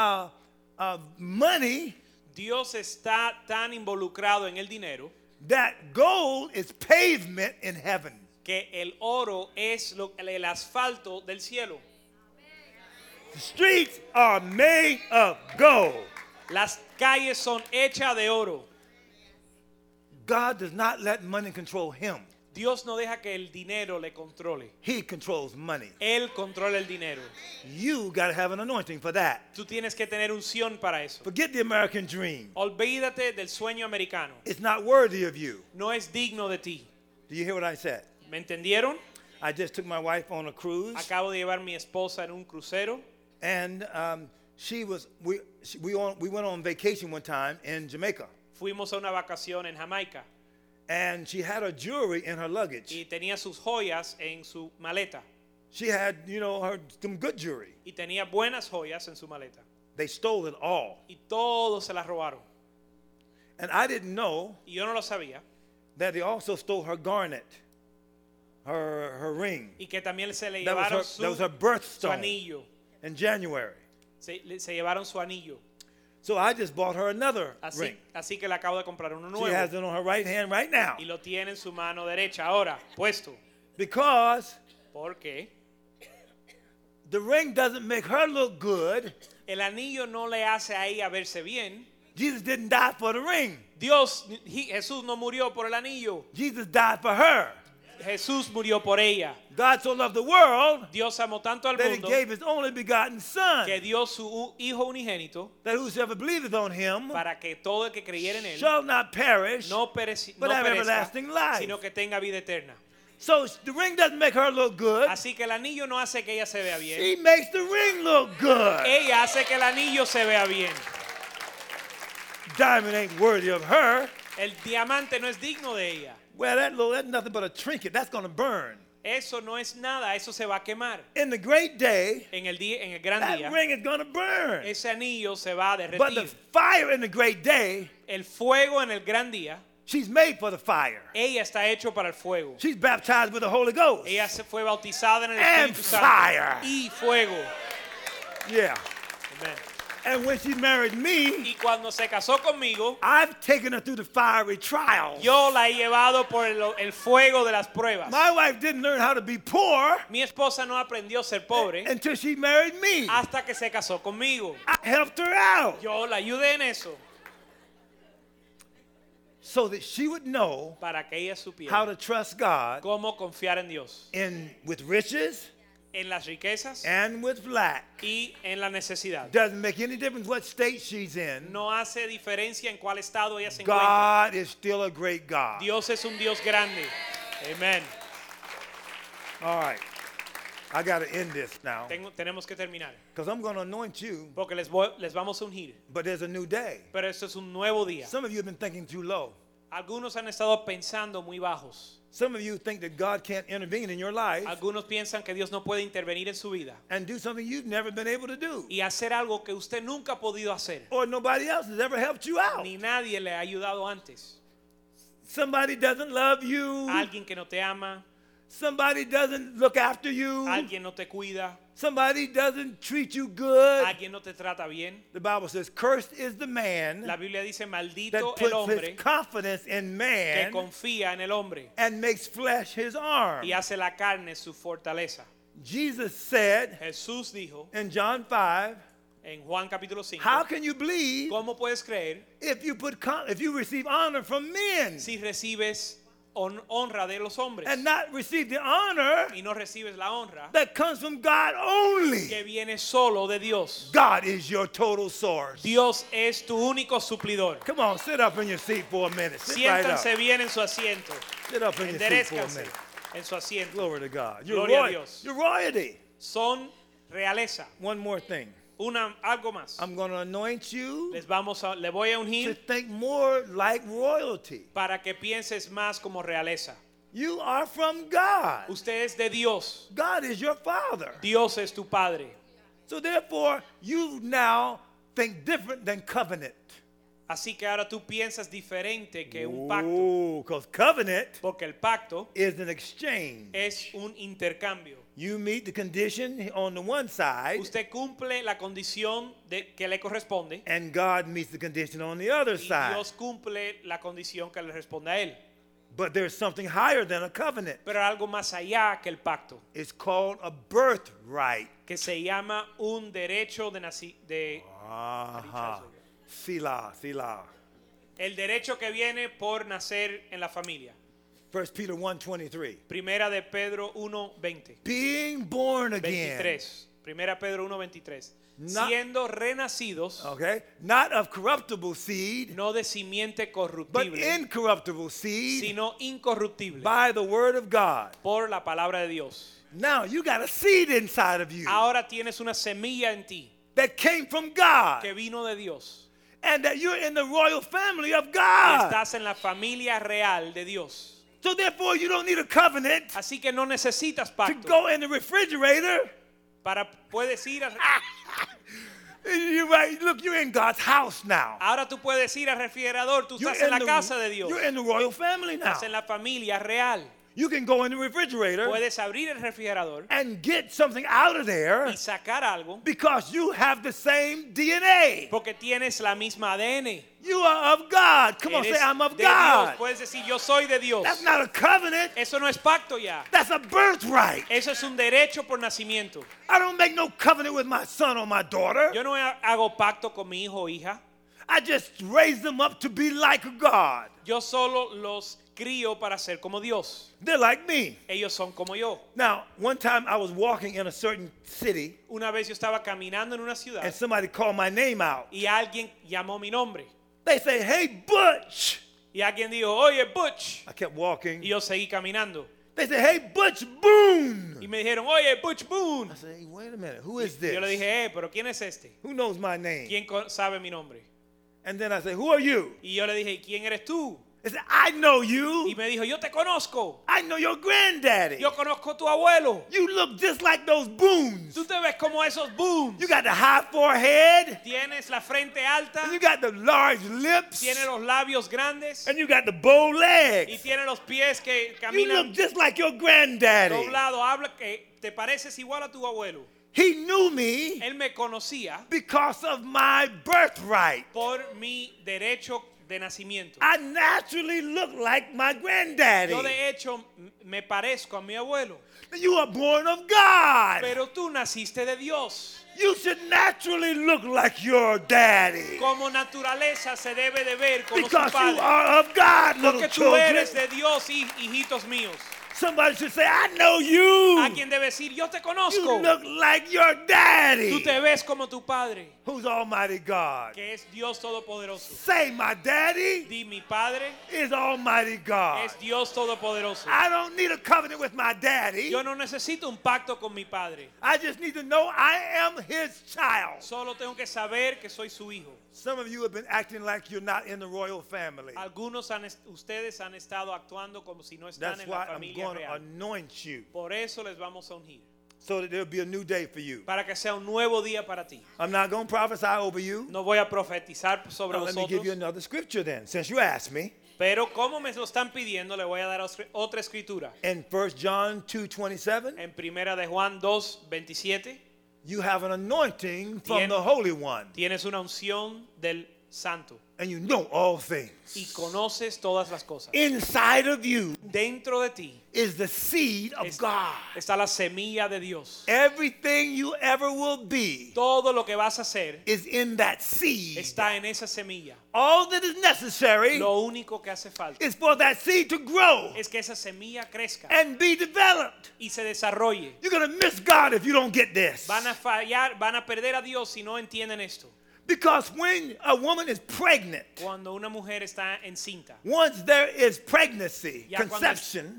D: money
C: Dios está tan involucrado en el dinero
D: that gold is pavement in heaven.
C: que el oro es el asfalto del cielo.
D: The streets are made of gold.
C: Las calles son hechas de oro.
D: God does not let money control him.
C: Dios no deja que el dinero le controle.
D: He controls money.
C: Él controla el dinero.
D: You got to have an anointing for that.
C: Tú tienes que tener unción para eso.
D: Forget the American dream.
C: Olvídate del sueño americano.
D: It's not worthy of you.
C: No es digno de ti.
D: Do you hear what I said?
C: ¿Me entendieron?
D: I just took my wife on a cruise,
C: Acabo de llevar a mi esposa en un crucero
D: and we went on vacation one time in Jamaica,
C: fuimos a una vacación en Jamaica
D: and she had her jewelry in her luggage.
C: y tenía sus joyas en su maleta.
D: She had, some good jewelry.
C: Y tenía buenas joyas en su maleta.
D: They stole it all.
C: Y todos se las robaron.
D: And I didn't know
C: y yo no lo sabía,
D: that they also stole her garnet, her ring.
C: y que también se le
D: That
C: llevaron
D: was her
C: su
D: birthstone
C: anillo.
D: in January.
C: Se llevaron su anillo.
D: So I just bought her another ring.
C: Así que le acabo de comprar uno
D: She has
C: nuevo.
D: it on her right hand right now.
C: Y lo tiene en su mano derecha ahora, puesto.
D: Because
C: Porque
D: the ring doesn't make her look good.
C: el anillo no le hace a ella verse bien.
D: Jesus didn't die for the ring.
C: Jesús no murió por el anillo.
D: Jesus died for her.
C: Jesús murió por ella.
D: God so loved the world
C: Dios amó tanto al
D: that he
C: mundo
D: gave his only begotten Son,
C: que dio su Hijo unigénito
D: that whosoever believeth on him
C: para que todo el que creyera en él
D: shall not perish,
C: no
D: but
C: perezca,
D: have everlasting life.
C: sino que tenga vida eterna.
D: So the ring doesn't make her look good.
C: Así que el anillo no hace que ella se vea bien.
D: She makes the ring look good.
C: Ella hace que el anillo se vea bien.
D: Diamond ain't worthy of her.
C: El diamante no es digno de ella.
D: Well, that's nothing but a trinket. That's going to burn.
C: Eso no es nada, eso se va a quemar.
D: In the great day,
C: En el gran
D: that
C: día,
D: ring is going to burn.
C: ese anillo se va a
D: But the
C: derretir.
D: fire in the great day,
C: El fuego en el gran día,
D: she's made for the fire.
C: ella está hecho para el fuego.
D: She's baptized with the Holy Ghost.
C: Ella se fue bautizada en el
D: And
C: Espíritu Santo
D: fire.
C: y fuego.
D: Yeah.
C: Amen.
D: And when she married me,
C: Y cuando se casó conmigo,
D: I've taken her through the fiery trials.
C: yo la he llevado por el fuego de las pruebas.
D: My wife didn't learn how to be poor
C: Mi esposa no aprendió a ser pobre
D: until she married me.
C: hasta que se casó conmigo.
D: I helped her out
C: Yo la ayudé en eso
D: so that she would know
C: para que ella
D: how
C: supiera
D: to trust God
C: cómo confiar en Dios,
D: with riches
C: en las riquezas
D: and with lack.
C: y en la necesidad.
D: Doesn't make any difference what state she's in.
C: No hace diferencia en cuál estado ella se encuentra.
D: God is still a great God.
C: Dios es un Dios grande. Amén.
D: All right. I got to end this now
C: Tenemos que terminar
D: because I'm going to anoint you,
C: porque les vamos a ungir.
D: but there's a new day.
C: Pero esto es un nuevo día.
D: Some of you have been thinking too low.
C: Algunos han estado pensando muy bajos.
D: Some of you think that God can't intervene in your life
C: Algunos piensan que Dios no puede intervenir en su vida
D: and do something you've never been able to do,
C: y hacer algo que usted nunca ha podido hacer,
D: or nobody else has ever helped you out.
C: ni nadie le ha ayudado antes.
D: Somebody doesn't love you.
C: Alguien que no te ama,
D: Somebody doesn't look after you.
C: alguien no te cuida,
D: Somebody doesn't treat you good.
C: alguien no te trata bien.
D: The Bible says, cursed is the man
C: La Biblia dice,
D: that
C: maldito el
D: puts
C: hombre
D: his confidence in
C: que
D: man
C: confía en el hombre
D: and makes flesh his arm.
C: y hace la carne su fortaleza.
D: Jesus said
C: Jesús dijo
D: in John 5,
C: en Juan capítulo 5,
D: how can you believe
C: ¿cómo puedes creer
D: if you receive honor from men
C: si recibes honra de los hombres
D: and not receive the honor
C: y no recibes la honra
D: that comes from God only?
C: que viene solo de Dios?
D: God is your total source.
C: Dios es tu único suplidor.
D: Come on, sit up in your seat for a minute. Sit right up.
C: Siéntanse bien en su asiento.
D: Sit up in your seat for a
C: Enderezcanse
D: minute.
C: en su asiento.
D: Glory to God.
C: Gloria a Dios.
D: You're royalty.
C: Son realeza.
D: One more thing.
C: Algo más.
D: I'm going to anoint you
C: Le voy a
D: to
C: ungir
D: think more like royalty.
C: para que pienses más como realeza.
D: You are from God.
C: Usted es de Dios.
D: God is your father.
C: Dios es tu Padre.
D: So therefore, you now think different than covenant.
C: Así que ahora tú piensas diferente que un pacto.
D: Oh, because covenant
C: Porque el pacto
D: is an exchange.
C: es un intercambio.
D: You meet the condition on the one side,
C: Usted cumple la condición que le corresponde
D: and God meets the condition on the other
C: y
D: side.
C: Dios cumple la condición que le responde a él.
D: But there's something higher than a covenant.
C: Pero algo más allá que el pacto,
D: It's called a birthright.
C: que se llama un derecho de
D: Aha. Sila, Sila.
C: el derecho que viene por nacer en la familia.
D: 1 Peter 1:23.
C: Primera de Pedro 1:20.
D: Being born again.
C: 23. Primera Pedro 1:23.
D: Not-
C: Siendo renacidos,
D: Okay? Not of corruptible seed,
C: no de simiente
D: but
C: corruptible,
D: incorruptible seed
C: sino incorruptible,
D: by the word of God.
C: por la palabra de Dios.
D: Now you got a seed inside of you
C: Ahora tienes una semilla en ti
D: that came from God,
C: que vino de Dios.
D: and that you're in the royal family of
C: Y
D: God.
C: estás en la familia real de Dios.
D: So therefore, you don't need a covenant
C: Así que no necesitas
D: to
C: pacto.
D: go in the refrigerator
C: Puedes ir
D: Look, you're in God's house now.
C: Ahora tú puedes ir al refrigerador, tú
D: You're
C: estás en la
D: the-
C: casa de Dios.
D: You're in the royal family now.
C: Estás en la familia real.
D: You can go in the refrigerator
C: Puedes abrir el refrigerador
D: and get something out of there
C: y sacar algo
D: because you have the same DNA.
C: porque tienes la misma ADN.
D: You are of God. Come on, say,
C: Eres
D: I'm of
C: de Dios.
D: God.
C: Puedes decir, yo soy de Dios.
D: That's not a covenant.
C: Eso no es pacto ya.
D: That's a birthright.
C: Eso es un derecho por nacimiento.
D: I don't make no covenant with my son or my daughter.
C: Yo no hago pacto con mi hijo o hija.
D: I just raise them up to be like God.
C: Yo solo los crío para ser como Dios.
D: They're like me.
C: Ellos son como yo.
D: Now, one time I was walking in a certain city
C: Una vez yo estaba caminando en una ciudad
D: and somebody called my name out.
C: y alguien llamó mi nombre.
D: They say, hey, Butch.
C: Y alguien dijo, oye, Butch.
D: I kept walking.
C: Y yo seguí caminando.
D: They say, hey, Butch Boone.
C: Y me dijeron, oye, Butch Boone.
D: I said, hey, wait a minute. Who is this?
C: Yo le dije, pero ¿quién es este?
D: Who knows my name?
C: ¿Quién sabe mi nombre?
D: And then I said, who are you?
C: Y yo le dije, ¿quién eres tú?
D: They said, I know
C: Y
D: you.
C: me dijo, yo te conozco.
D: I know your granddaddy.
C: Yo conozco a tu abuelo.
D: You look just like those Boones.
C: Tú te ves como esos Boones.
D: You got the high forehead.
C: Tienes la frente alta.
D: And you got the large lips.
C: Tienes los labios grandes.
D: And you got the bow
C: Y
D: legs.
C: tiene los pies que
D: You look
C: caminan
D: just like your granddaddy.
C: doblados. Habla que te pareces igual a tu abuelo.
D: He knew me
C: Él me conocía
D: because of my birthright.
C: por mi derecho de nacimiento.
D: I naturally look like my granddaddy.
C: Yo de hecho me parezco a mi abuelo.
D: You are born of God.
C: Pero tú naciste de Dios.
D: You should naturally look like your daddy.
C: Como naturaleza se debe de ver como su
D: Because you
C: padre.
D: are of God, little
C: Porque tú
D: children.
C: eres de Dios, hijitos míos.
D: Somebody should say, I know you.
C: Alguien debe decir, yo te
D: You
C: conozco.
D: look like your daddy.
C: Tú te ves como tu padre,
D: Who's Almighty God?
C: que es Dios Todopoderoso.
D: Say, my daddy
C: Di, mi padre
D: is Almighty God.
C: es Dios Todopoderoso.
D: I don't need a covenant with my daddy.
C: Yo no necesito un pacto con mi padre.
D: I just need to know I am his child.
C: Solo tengo que saber que soy su hijo.
D: Some of you have been acting like you're not in the royal family.
C: Algunos ustedes han estado actuando como si no están
D: That's
C: en la
D: why I'm
C: familia
D: going to
C: real.
D: anoint you
C: Por eso les vamos a ungir.
D: so that there'll be a new day for you.
C: Para que sea un nuevo día para ti.
D: I'm not going to prophesy over you.
C: No voy a profetizar sobre
D: Now, let me give you
C: vosotros.
D: another scripture then, since you asked me.
C: Pero como me lo están pidiendo, le voy a dar otra escritura.
D: In 1 John 2:27,
C: En primera de Juan 2:27
D: you have an anointing from
C: Tien-
D: the Holy One,
C: tienes una unción del Santo
D: and you know all
C: y
D: things.
C: conoces todas las cosas.
D: Inside of you
C: Dentro de ti
D: is the seed of God.
C: está la semilla de Dios.
D: Everything you ever will be
C: Todo lo que vas a hacer
D: is in that seed.
C: está en esa semilla.
D: All that is necessary
C: Lo único que hace falta
D: is for that seed to grow
C: es que esa semilla crezca
D: and be developed.
C: y se desarrolle.
D: You're going to miss God if you don't get this.
C: Van a fallar, van a perder a Dios si no entienden esto.
D: Because when a woman is pregnant,
C: Cuando una mujer está encinta,
D: once there is pregnancy,
C: ya
D: conception,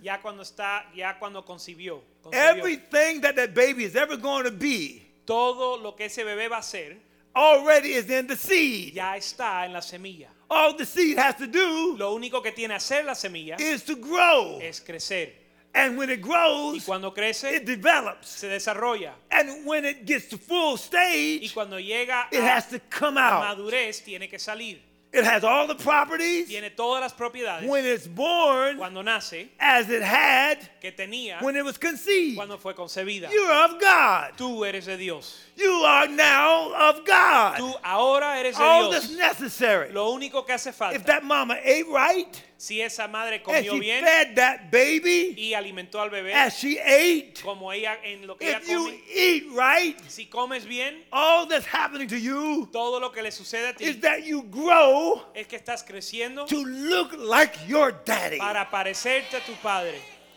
C: cuando concibió,
D: everything that baby is ever going to be
C: todo lo que ese bebé va a ser
D: already is in the seed.
C: ya está en la semilla.
D: All the seed has to do
C: Lo único que tiene que hacer la semilla
D: is to grow.
C: es crecer.
D: And when it
C: Y
D: grows,
C: cuando crece,
D: it develops.
C: se desarrolla.
D: And when it gets to full
C: Y
D: stage,
C: cuando llega
D: it has to come
C: a
D: out.
C: madurez, tiene que salir.
D: It has all the properties
C: Tiene todas las propiedades.
D: when it's born
C: Cuando nace,
D: as it had
C: que tenía
D: when it was conceived.
C: cuando fue concebida.
D: You're of God.
C: Tú eres de Dios.
D: You are now of God.
C: Tú ahora eres de
D: All that's
C: Dios.
D: necessary.
C: Lo único que hace
D: If
C: falta,
D: that mama ate right
C: si esa madre
D: and
C: comió
D: she
C: bien
D: fed that baby
C: y alimentó al bebé
D: as she ate,
C: como ella en lo que ella
D: if you
C: come,
D: eat right,
C: si comes bien,
D: all that's happening to you
C: todo lo que le sucede a
D: is
C: ti
D: that you grow
C: es que estás creciendo
D: to look like your daddy.
C: para parecerte a tu padre.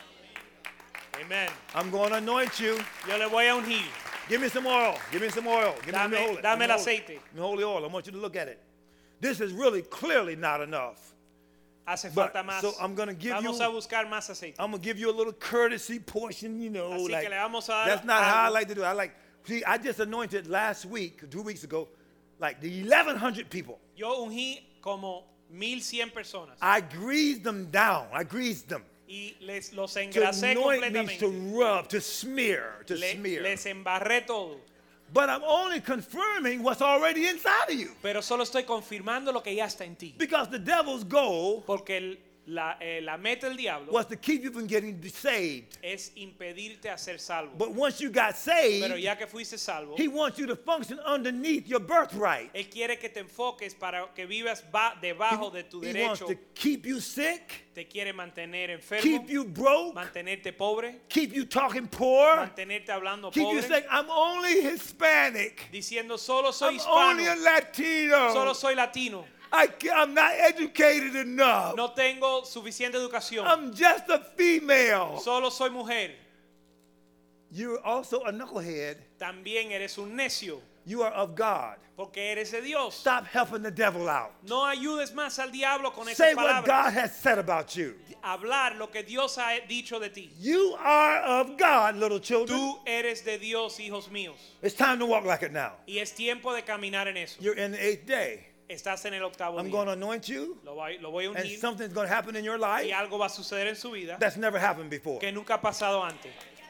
C: Amen.
D: I'm going to anoint you.
C: Yo le voy a ungir.
D: Give me some oil. Give me some oil. Give me the holy.
C: Dame el
D: give me
C: aceite.
D: the holy oil. I want you to look at it. This is really clearly not enough.
C: Hace
D: But,
C: falta más.
D: so I'm gonna give
C: Vamos
D: you-
C: a buscar más aceite.
D: I'm gonna give you a little courtesy portion, you know.
C: Así
D: like,
C: que le vamos a dar
D: that's not how I
C: algo.
D: like to do it. I just anointed last week, 2 weeks ago, like the 1,100 people.
C: Yo ungí como 1,100 personas
D: I greased them down. I greased them.
C: y los
D: To
C: engrasé
D: anoint means to
C: completamente.
D: rub, to smear,
C: Les embarré todo.
D: But I'm only confirming what's already inside of you.
C: pero solo estoy confirmando lo que ya está en ti.
D: Because the devil's goal
C: Porque la meta del diablo
D: was to keep you from getting saved.
C: es impedirte a ser salvo.
D: But once you got
C: Pero
D: saved,
C: ya que fuiste salvo,
D: he wants you to function underneath your birthright.
C: Él quiere que te enfoques para que vivas debajo de tu
D: He wants
C: derecho.
D: to keep you sick,
C: Te quiere mantener enfermo,
D: keep you broke,
C: mantenerte pobre,
D: keep you talking poor,
C: mantenerte hablando
D: keep you
C: pobre,
D: saying, I'm only Hispanic,
C: diciendo solo soy
D: I'm only a
C: hispano,
D: Latino,
C: solo soy latino,
D: I'm not educated enough,
C: no tengo suficiente educación,
D: I'm just a female.
C: solo soy mujer.
D: You're also a knucklehead.
C: También eres un necio,
D: You are of God.
C: porque eres de Dios.
D: Stop helping the devil out.
C: No ayudes más al diablo con esas
D: Say what God
C: palabras.
D: has said about you.
C: Hablar lo que Dios ha dicho de ti.
D: You are of God, little children.
C: Tú eres de Dios, hijos míos.
D: It's time to walk like it now.
C: Y es tiempo de caminar en eso.
D: You're in the 8th day.
C: Estás en el octavo
D: I'm
C: día.
D: going to anoint you,
C: Lo voy a
D: and
C: unir
D: something's going to happen in your life
C: y algo va a suceder en su vida
D: that's never happened before.
C: que nunca ha pasado antes.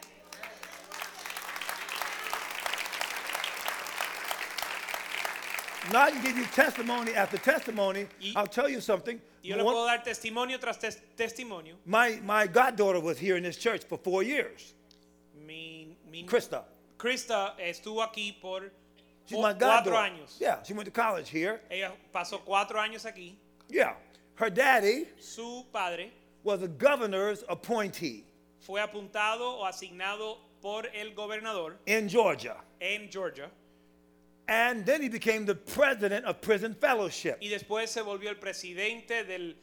D: Now I can give you testimony after testimony.
C: Y-
D: I'll tell you something.
C: Yo le puedo dar testimonio tras testimonio.
D: My goddaughter was here in this church for 4 years.
C: Mi
D: Krista.
C: Krista estuvo aquí por
D: She's my
C: 4
D: goddaughter.
C: años.
D: Yeah, she went to college here.
C: Ella pasó 4 años aquí.
D: Yeah. Her daddy
C: Su padre
D: was a governor's appointee
C: fue apuntado o asignado por el gobernador
D: in Georgia.
C: en Georgia
D: And then he became the president of Prison Fellowship.
C: y después se volvió el presidente de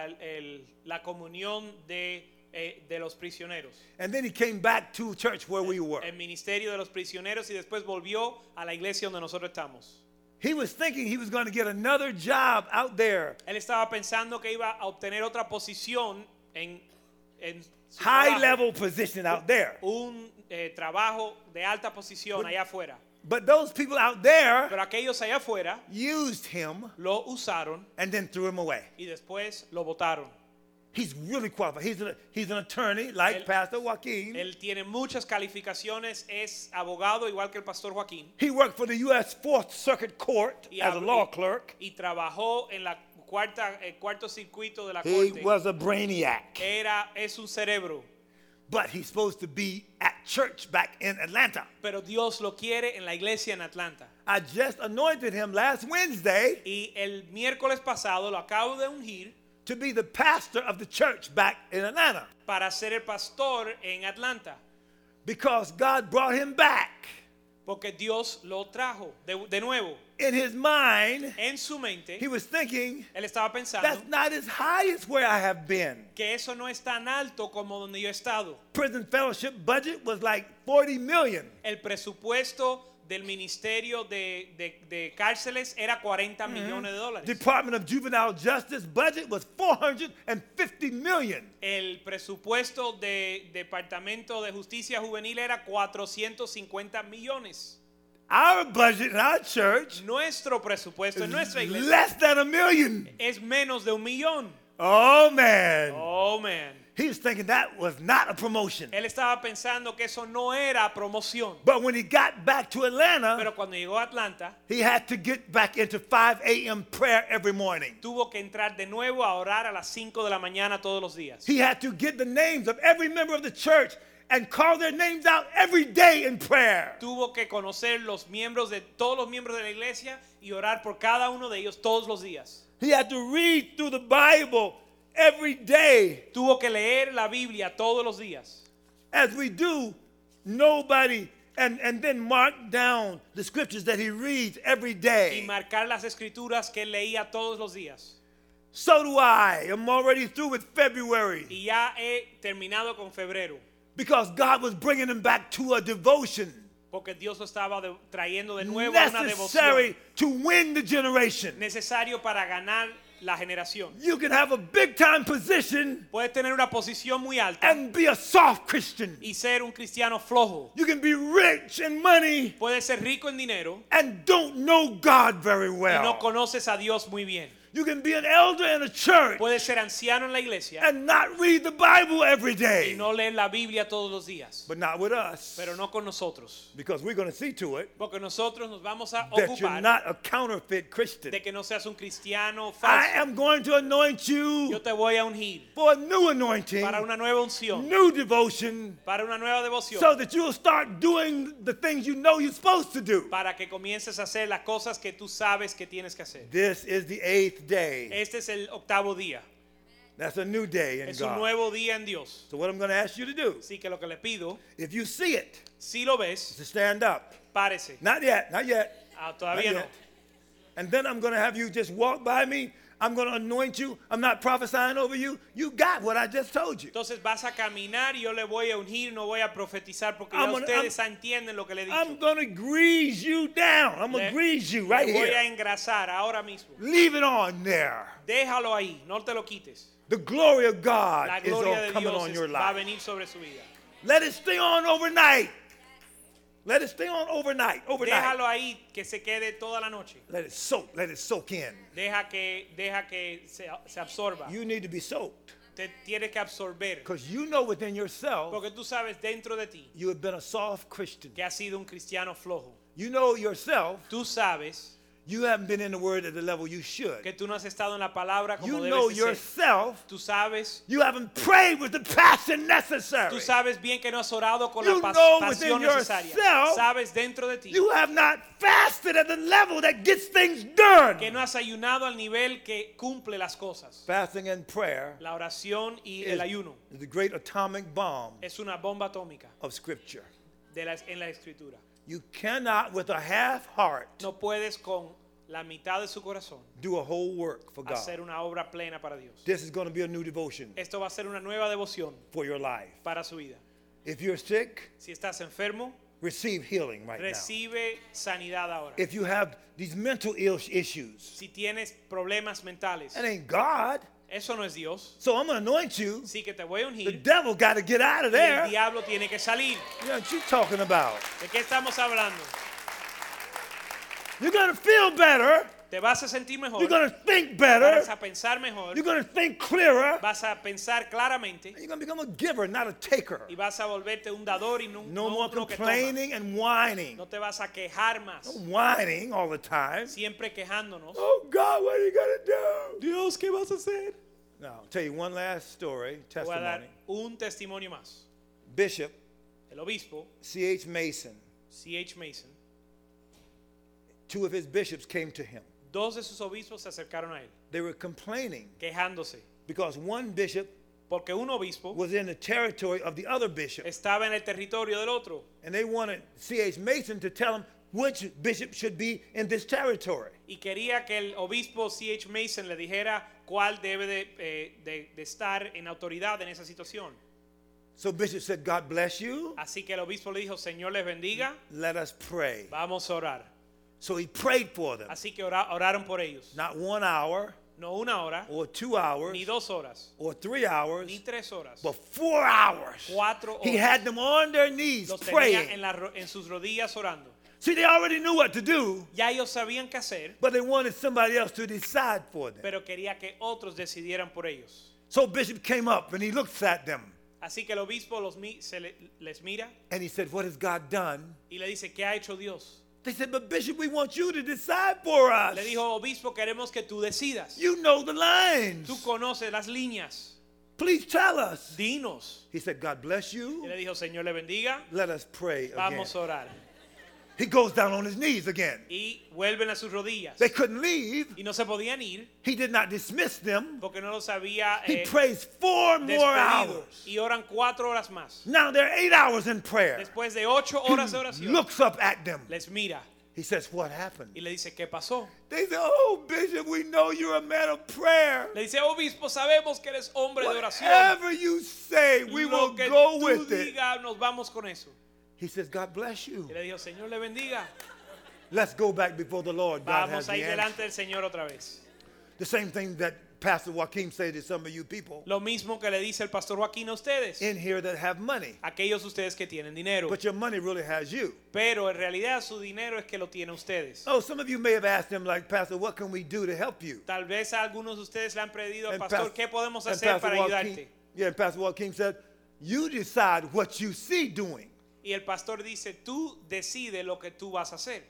C: la comunión de los prisioneros.
D: And then he came back to church where we were.
C: El ministerio de los prisioneros y después volvió a la iglesia donde nosotros estamos.
D: He was thinking he was going to get another job out there.
C: Él estaba pensando que iba a obtener otra posición en su
D: High
C: trabajo.
D: level position out there.
C: Un trabajo de alta posición allá afuera.
D: But those people out there
C: Pero aquellos allá afuera
D: used him
C: lo usaron
D: and then threw him away.
C: y después lo votaron.
D: He's really qualified. He's an attorney like
C: Él-
D: Pastor Joaquin.
C: Él tiene muchas calificaciones, es abogado igual que el pastor Joaquín.
D: He worked for the U.S. Fourth Circuit Court
C: Y,
D: as a
C: hab-
D: law
C: y-
D: clerk.
C: y trabajó en la cuarto circuito de la
D: He
C: corte.
D: was a brainiac.
C: Es un cerebro,
D: But he's supposed to be at church back in Atlanta.
C: pero Dios lo quiere en la iglesia en Atlanta.
D: I just anointed him last Wednesday
C: Y el miércoles pasado lo acabo de ungir
D: to be the pastor of the church back in Atlanta
C: para ser el pastor en Atlanta,
D: because God brought him back.
C: porque Dios lo trajo de nuevo.
D: In his mind,
C: En su mente,
D: he was thinking,
C: él estaba
D: that's
C: pensando
D: not as high as where I have been.
C: que eso no es tan alto como donde yo he estado.
D: Prison fellowship budget was like 40 million.
C: El presupuesto del Ministerio de Cárceles era 40 millones de dólares.
D: Department of Juvenile Justice budget was 450 million.
C: El presupuesto del Departamento de Justicia Juvenil era 450 millones.
D: Our budget in our church
C: Nuestro presupuesto en nuestra
D: is
C: iglesia
D: less than $1 million.
C: es menos de 1 millón.
D: Oh man.
C: Oh, man.
D: He was thinking that was not a promotion.
C: Él estaba pensando que eso no era promoción.
D: But when he got back to Atlanta,
C: Pero cuando llegó a Atlanta,
D: he had to get back into 5 a.m. prayer every morning.
C: tuvo que entrar de nuevo a orar a las 5 de la mañana todos los días.
D: He had to get the names of every member of the church and call their names out every day in prayer.
C: Tuvo que conocer todos los miembros de la iglesia y orar por cada uno de ellos todos los días.
D: He had to read through the Bible every day.
C: Tuvo que leer la Biblia todos los días.
D: As we do, nobody, and then mark down the scriptures that he reads every
C: Y
D: day.
C: marcar las escrituras que él leía todos los días.
D: So do I. I'm already through with February
C: Y ya he terminado con febrero.
D: because God was bringing him back to a devotion
C: Porque Dios lo estaba trayendo de nuevo a una
D: necessary
C: devoción.
D: to win the generation.
C: Necesario para ganar la generación.
D: You can have a big time position
C: Puedes tener una posición muy alta
D: and be a soft Christian.
C: y ser un cristiano flojo.
D: You can be rich in money
C: Puedes ser rico en dinero
D: and don't know God very
C: y no
D: well.
C: conoces a Dios muy bien.
D: You can be an elder in a church
C: Puedes ser anciano en la iglesia
D: and not read the Bible every
C: y
D: day.
C: no leer la Biblia todos los días.
D: But not with us.
C: Pero no con nosotros.
D: Because we're going to see to it
C: Porque nosotros nos vamos a
D: that you're
C: ocupar
D: not a counterfeit Christian.
C: de que no seas un cristiano
D: I
C: falso.
D: am going to anoint you
C: Yo te voy a ungir
D: for a new anointing,
C: para una nueva unción,
D: new devotion,
C: para una nueva devoción,
D: so that you'll start doing the things you know you're supposed to do.
C: para que comiences a hacer las cosas que tú sabes que tienes que hacer.
D: This is the 8th day.
C: Este es el 8º día.
D: That's a new day in
C: Es un
D: God.
C: nuevo día en Dios.
D: So what I'm going to ask you to do,
C: Así que lo que le pido,
D: if you see it,
C: si lo
D: is
C: ves,
D: to stand up.
C: párese.
D: Not yet, not yet.
C: Todavía
D: Not
C: no.
D: yet. And then I'm going to have you just walk by me. I'm going to anoint you. I'm not prophesying over you. You got what I just told you.
C: Entonces vas a caminar y yo le voy a ungir, no voy a profetizar porque
D: I'm
C: ya
D: gonna-
C: ustedes entienden lo que le he
D: I'm
C: dicho.
D: going to grease you down. I'm going to
C: Le-
D: grease you right
C: le voy a
D: here.
C: engrasar ahora mismo.
D: Leave it on there.
C: Déjalo ahí, no te lo quites.
D: The glory of God
C: La
D: is
C: gloria
D: all
C: de
D: coming
C: Dios
D: on your
C: va a
D: life.
C: venir sobre su vida.
D: Let it stay on overnight. Let it stay on overnight. Overnight.
C: Déjalo ahí que se quede toda la noche.
D: Let it soak. Let it soak in.
C: Deja que se absorba.
D: You need to be soaked.
C: Te tienes que absorber.
D: Because you know within yourself
C: Porque tú sabes dentro de ti
D: you have been a soft Christian.
C: que has sido un cristiano flojo.
D: You know yourself
C: Tú sabes
D: you haven't been in the word at the level you should.
C: que tú no has estado en la palabra como
D: You
C: debes
D: know
C: de ser.
D: yourself
C: Tú sabes
D: you haven't prayed with the passion necessary.
C: Tú sabes bien que no has orado con
D: You
C: la
D: know
C: pasión
D: within
C: necesaria.
D: yourself
C: Sabes dentro de ti
D: You have not fasted at the level that gets things done.
C: que no has ayunado al nivel que cumple las cosas.
D: Fasting and prayer
C: La oración y
D: is,
C: el ayuno
D: is the great atomic bomb
C: es una bomba atómica
D: of Scripture.
C: en la escritura.
D: You cannot, with a half heart,
C: No puedes con la mitad de su corazón
D: do a whole work for God.
C: hacer una obra plena para Dios.
D: This is going to be a new devotion
C: Esto va a ser una nueva devoción
D: for your life.
C: para su vida.
D: If you're sick,
C: Si estás enfermo,
D: receive healing right now.
C: recibe sanidad ahora.
D: If you have these mental issues,
C: Si tienes problemas mentales,
D: it ain't God.
C: eso no es Dios.
D: So I'm going to anoint you.
C: Sí que te voy a
D: The
C: ungir
D: devil got to get out of
C: y el
D: there.
C: diablo tiene que salir.
D: You know what you talking about?
C: ¿De qué estamos hablando?
D: You're going to feel better.
C: Te vas a sentir mejor,
D: You're going to think better.
C: vas a pensar mejor,
D: You're going to think clearer.
C: vas a pensar claramente
D: You're going to become a giver, not a taker.
C: y vas a volverte un dador y no,
D: No more
C: uno que toma.
D: complaining and whining.
C: No te vas a quejar más,
D: Whining all the time.
C: siempre quejándonos.
D: Oh God, what are you going to do?
C: Dios, ¿qué vas a hacer?
D: Now, I'll tell you one last story,
C: Te voy a dar
D: testimony.
C: un testimonio más.
D: Bishop
C: El obispo
D: C.H. Mason,
C: C.H. Mason,
D: two of his bishops came to him.
C: dos de sus obispos se acercaron a él,
D: They were complaining
C: quejándose,
D: because one bishop
C: porque un obispo
D: was in the territory of the other bishop.
C: estaba en el territorio del otro
D: And they wanted C.H. Mason to tell them which bishop should be in this territory.
C: y quería que el obispo C.H. Mason le dijera cuál debe de estar en autoridad en esa situación.
D: So Bishop said, God bless you.
C: Así que el obispo le dijo, Señor les bendiga,
D: Let us pray.
C: vamos a orar.
D: So he prayed for them.
C: Así que oraron por ellos.
D: Not 1 hour
C: No una hora,
D: or 2 hours
C: ni 2 horas,
D: or 3 hours,
C: ni 3 horas,
D: but 4 hours.
C: 4
D: He
C: horas.
D: had them on their knees
C: Los tenía
D: praying.
C: en sus rodillas orando.
D: See, they already knew what to do,
C: Ya ellos sabían qué hacer,
D: but they wanted somebody else to decide for them.
C: pero quería que otros decidieran por ellos.
D: So Bishop came up and he looks at them
C: Así que el obispo les mira
D: and he said, what has God done?
C: y le dice, ¿qué ha hecho Dios?
D: They said, but Bishop, we want you to decide for us.
C: Le dijo, obispo, queremos que tú decidas.
D: You know the lines.
C: Tú conoces las líneas.
D: Please tell us.
C: Dinos.
D: He said, God bless
C: Y
D: you.
C: le dijo, Señor le bendiga,
D: Let us pray again.
C: vamos a orar.
D: He goes down on his knees again.
C: Y vuelven a sus rodillas.
D: They couldn't leave.
C: Y no se podían ir
D: He did not dismiss them.
C: porque no los había
D: He prays 4 more
C: despedido.
D: hours.
C: Y oran 4 horas más.
D: Now they're 8 hours in prayer.
C: Después de 8 horas de
D: He
C: oración,
D: looks up at them.
C: les mira
D: He says, what happened?
C: y le dice, ¿qué pasó?
D: They say, oh, Bishop, we know you're a man of prayer.
C: Le dice, obispo, sabemos que eres hombre de oración.
D: Whatever you say, we will
C: Lo que
D: go
C: tú
D: with it.
C: digas, nos vamos con eso.
D: He says, God bless you.
C: Y le dijo, Señor le bendiga.
D: Let's go back before the Lord. God has
C: Vamos
D: the
C: a ir
D: answer.
C: delante del Señor otra vez.
D: The same thing that Pastor Joaquin say to some of you people
C: Lo mismo que le dice el pastor Joaquín a ustedes,
D: in here that have money,
C: aquellos ustedes que tienen dinero.
D: but your money really has you.
C: Pero en realidad su dinero es que lo tienen ustedes.
D: Oh, some of you may have asked him, like, Pastor, what can we do to help you?
C: Tal vez a algunos de ustedes le han pedido al
D: And
C: pastor,
D: Pas-
C: ¿qué podemos
D: and
C: hacer
D: Pastor
C: para
D: Joaquin-
C: ayudarte?
D: Yeah, and Pastor Joaquin said, you decide what you see doing.
C: Y el pastor dice, tú decides lo que tú vas a hacer.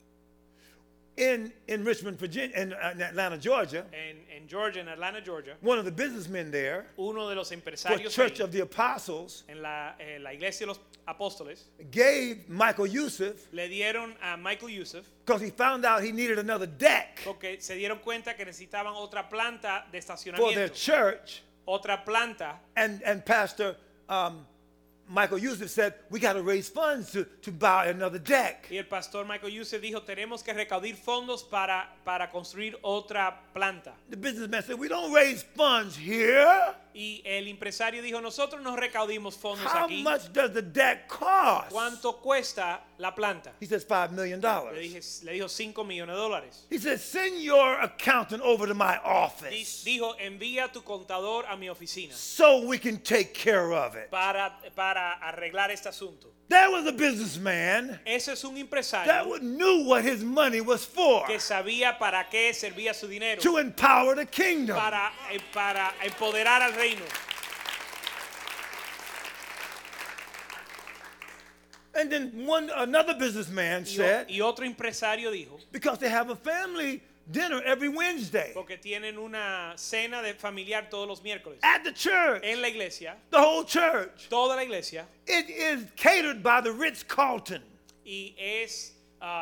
D: In Richmond, Virginia, in Atlanta, Georgia,
C: En Georgia, en Atlanta, Georgia,
D: one of the businessmen there,
C: uno de los
D: for
C: empresarios
D: Church
C: ahí,
D: of the Apostles,
C: en la iglesia de los apóstoles,
D: gave Michael Yusuf,
C: le dieron a Michael Yusuf
D: because he found out he needed another deck
C: porque se dieron cuenta que necesitaban otra planta de
D: for their
C: estacionamiento.
D: church.
C: Otra planta.
D: And Pastor Michael Yusuf said, we got to raise funds to buy another deck.
C: Y el pastor Michael Yusuf dijo, tenemos que recaudar fondos para construir otra planta.
D: The businessman said, we don't raise funds here.
C: Y el empresario dijo, nosotros no recaudimos fondos
D: How
C: aquí.
D: much does the deck cost?
C: ¿Cuánto cuesta la planta?
D: He says, $5 million.
C: Le dijo $5 millones.
D: He said, send your accountant over to my office
C: Dijo, envía a tu contador a mi oficina
D: so we can take care of it.
C: para arreglar este asunto.
D: There was a businessman
C: Ese es un
D: that
C: empresario
D: knew what his money was for,
C: que sabía para qué servía su dinero,
D: to empower the kingdom.
C: para empoderar al reino.
D: And then another businessman said,
C: Y otro empresario dijo,
D: because they have a family dinner every Wednesday
C: porque tienen una cena de familiar todos los miércoles
D: at the church,
C: en la iglesia,
D: the whole church.
C: toda la iglesia,
D: It is catered by the Ritz-Carlton.
C: y es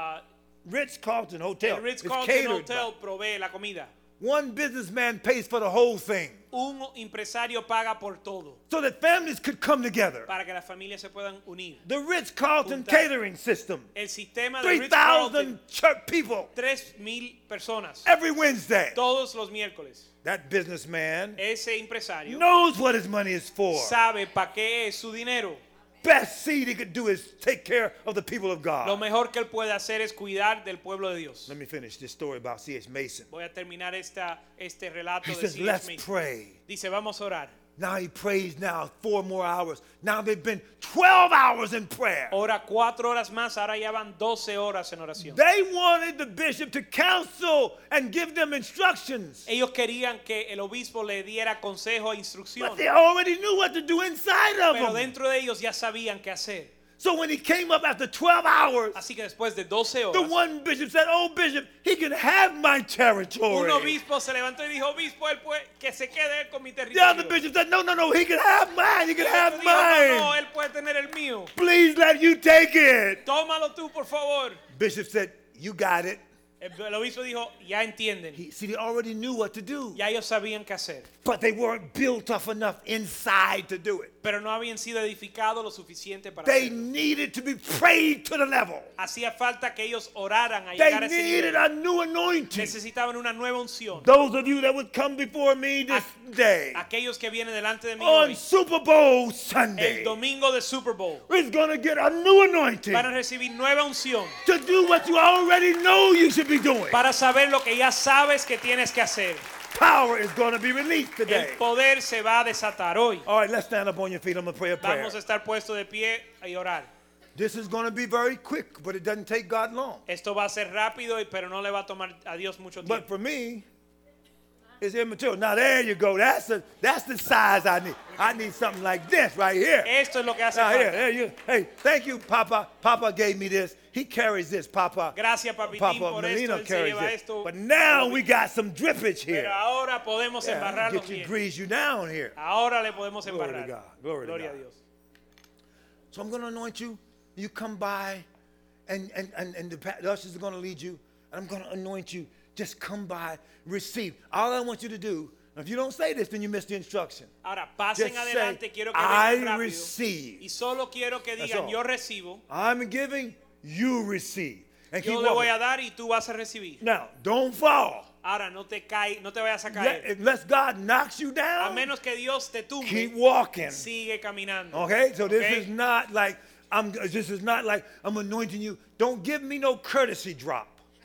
D: Ritz-Carlton Hotel.
C: el Ritz
D: It's
C: Carlton
D: catered
C: Hotel
D: by-
C: provee la comida.
D: One businessman pays for the whole thing
C: Un empresario paga por todo
D: so that families could come together.
C: para que las familias se puedan unir.
D: The Ritz-Carlton
C: Juntar.
D: catering system,
C: El sistema de Ritz
D: 3,000
C: Carlton,
D: church people
C: 3,000 personas
D: every Wednesday.
C: todos los miércoles.
D: That businessman
C: Ese empresario
D: knows what his money is for.
C: sabe para qué es su dinero.
D: Best seed he could do is take care of the people of
C: Lo
D: God.
C: mejor que él puede hacer es cuidar del pueblo de Dios.
D: Let me finish this story about C.H. Mason.
C: Voy a terminar este relato
D: He
C: de
D: says,
C: C.H.
D: let's
C: Mason.
D: pray.
C: Dice, vamos a orar.
D: Now he prays now 4 more hours. Now they've been 12 hours in prayer.
C: Ora 4 horas más, ahora ya van 12 horas en oración.
D: They wanted the bishop to counsel and give them instructions.
C: Ellos querían que el obispo le diera consejo e
D: But
C: instrucción,
D: they already knew what to do inside of
C: pero
D: them.
C: dentro de ellos ya sabían qué hacer.
D: So when he came up after 12 hours,
C: Así que después de 12
D: the
C: horas,
D: one bishop said, oh, bishop, he can have my
C: un
D: territory.
C: obispo se levantó y dijo, obispo, él puede, que se quede él con mi
D: The other
C: territorio.
D: bishop said, no, he can have mine. He can
C: El
D: have
C: otro dijo, no,
D: mine.
C: él puede tener el mío.
D: Please let you take it.
C: Tómalo tú, por favor.
D: Bishop said, you got it.
C: El obispo dijo, ya entienden.
D: See, they already knew what to do.
C: Ya ellos sabían qué hacer.
D: But they weren't built up enough inside to do it.
C: Pero no habían sido edificados lo suficiente para
D: They
C: hacerlo.
D: needed to be prayed to the level.
C: Hacía falta que ellos oraran a
D: They
C: llegar a ese
D: needed
C: nivel.
D: a new anointing.
C: Necesitaban una nueva unción.
D: Those of you that would come before me this day
C: Aquellos que vienen delante de mí
D: on
C: hoy,
D: Super Bowl
C: el
D: Sunday
C: domingo de Super Bowl,
D: is going to get a new anointing
C: van a recibir nueva unción
D: to do what you already know you should be doing.
C: para saber lo que ya sabes que tienes que hacer.
D: Power is going to be released today.
C: El poder se va a desatar hoy.
D: All right, let's stand up on your feet. I'm going to pray a prayer.
C: Vamos a estar puestos de pie y orar.
D: This is going to be very quick, but it doesn't take God long.
C: Esto va a ser rápido, pero no le va a tomar a Dios mucho
D: But
C: tiempo.
D: for me, it's immaterial. Now there you go. That's the size I need. I need something like this right here.
C: Esto es lo que hace
D: Now here,
C: falta.
D: there you. Hey, thank you, Papa. Papa gave me this. He carries this, Papa.
C: Gracias, Papitín,
D: Papa
C: por esto.
D: Melina
C: Él se
D: carries
C: lleva
D: this.
C: esto.
D: But now we got some drippage here.
C: Pero ahora podemos
D: Yeah,
C: embarrarlo
D: get you,
C: bien.
D: grease you down here.
C: Ahora le podemos
D: Glory to
C: embarrar.
D: God. Glory to
C: Gloria a
D: God.
C: Dios.
D: So I'm going to anoint you. You come by, and the ushers are going to lead you. And I'm going to anoint you. Just come by, receive. All I want you to do, if you don't say this, then you miss the instruction.
C: Ahora pasen
D: Just
C: adelante,
D: say,
C: quiero que
D: I
C: vengan rápido.
D: receive.
C: Y solo quiero que
D: That's
C: digan,
D: all.
C: yo recibo,
D: I'm giving, you receive. And keep
C: yo le voy
D: walking.
C: a dar y tú vas a recibir.
D: Now, don't fall.
C: Ahora no te vayas a caer.
D: Unless God knocks you
C: A
D: down,
C: menos que Dios te tumbe,
D: keep walking.
C: sigue caminando.
D: Okay? So this
C: Okay?
D: is not like I'm anointing you. Don't give me no courtesy drop.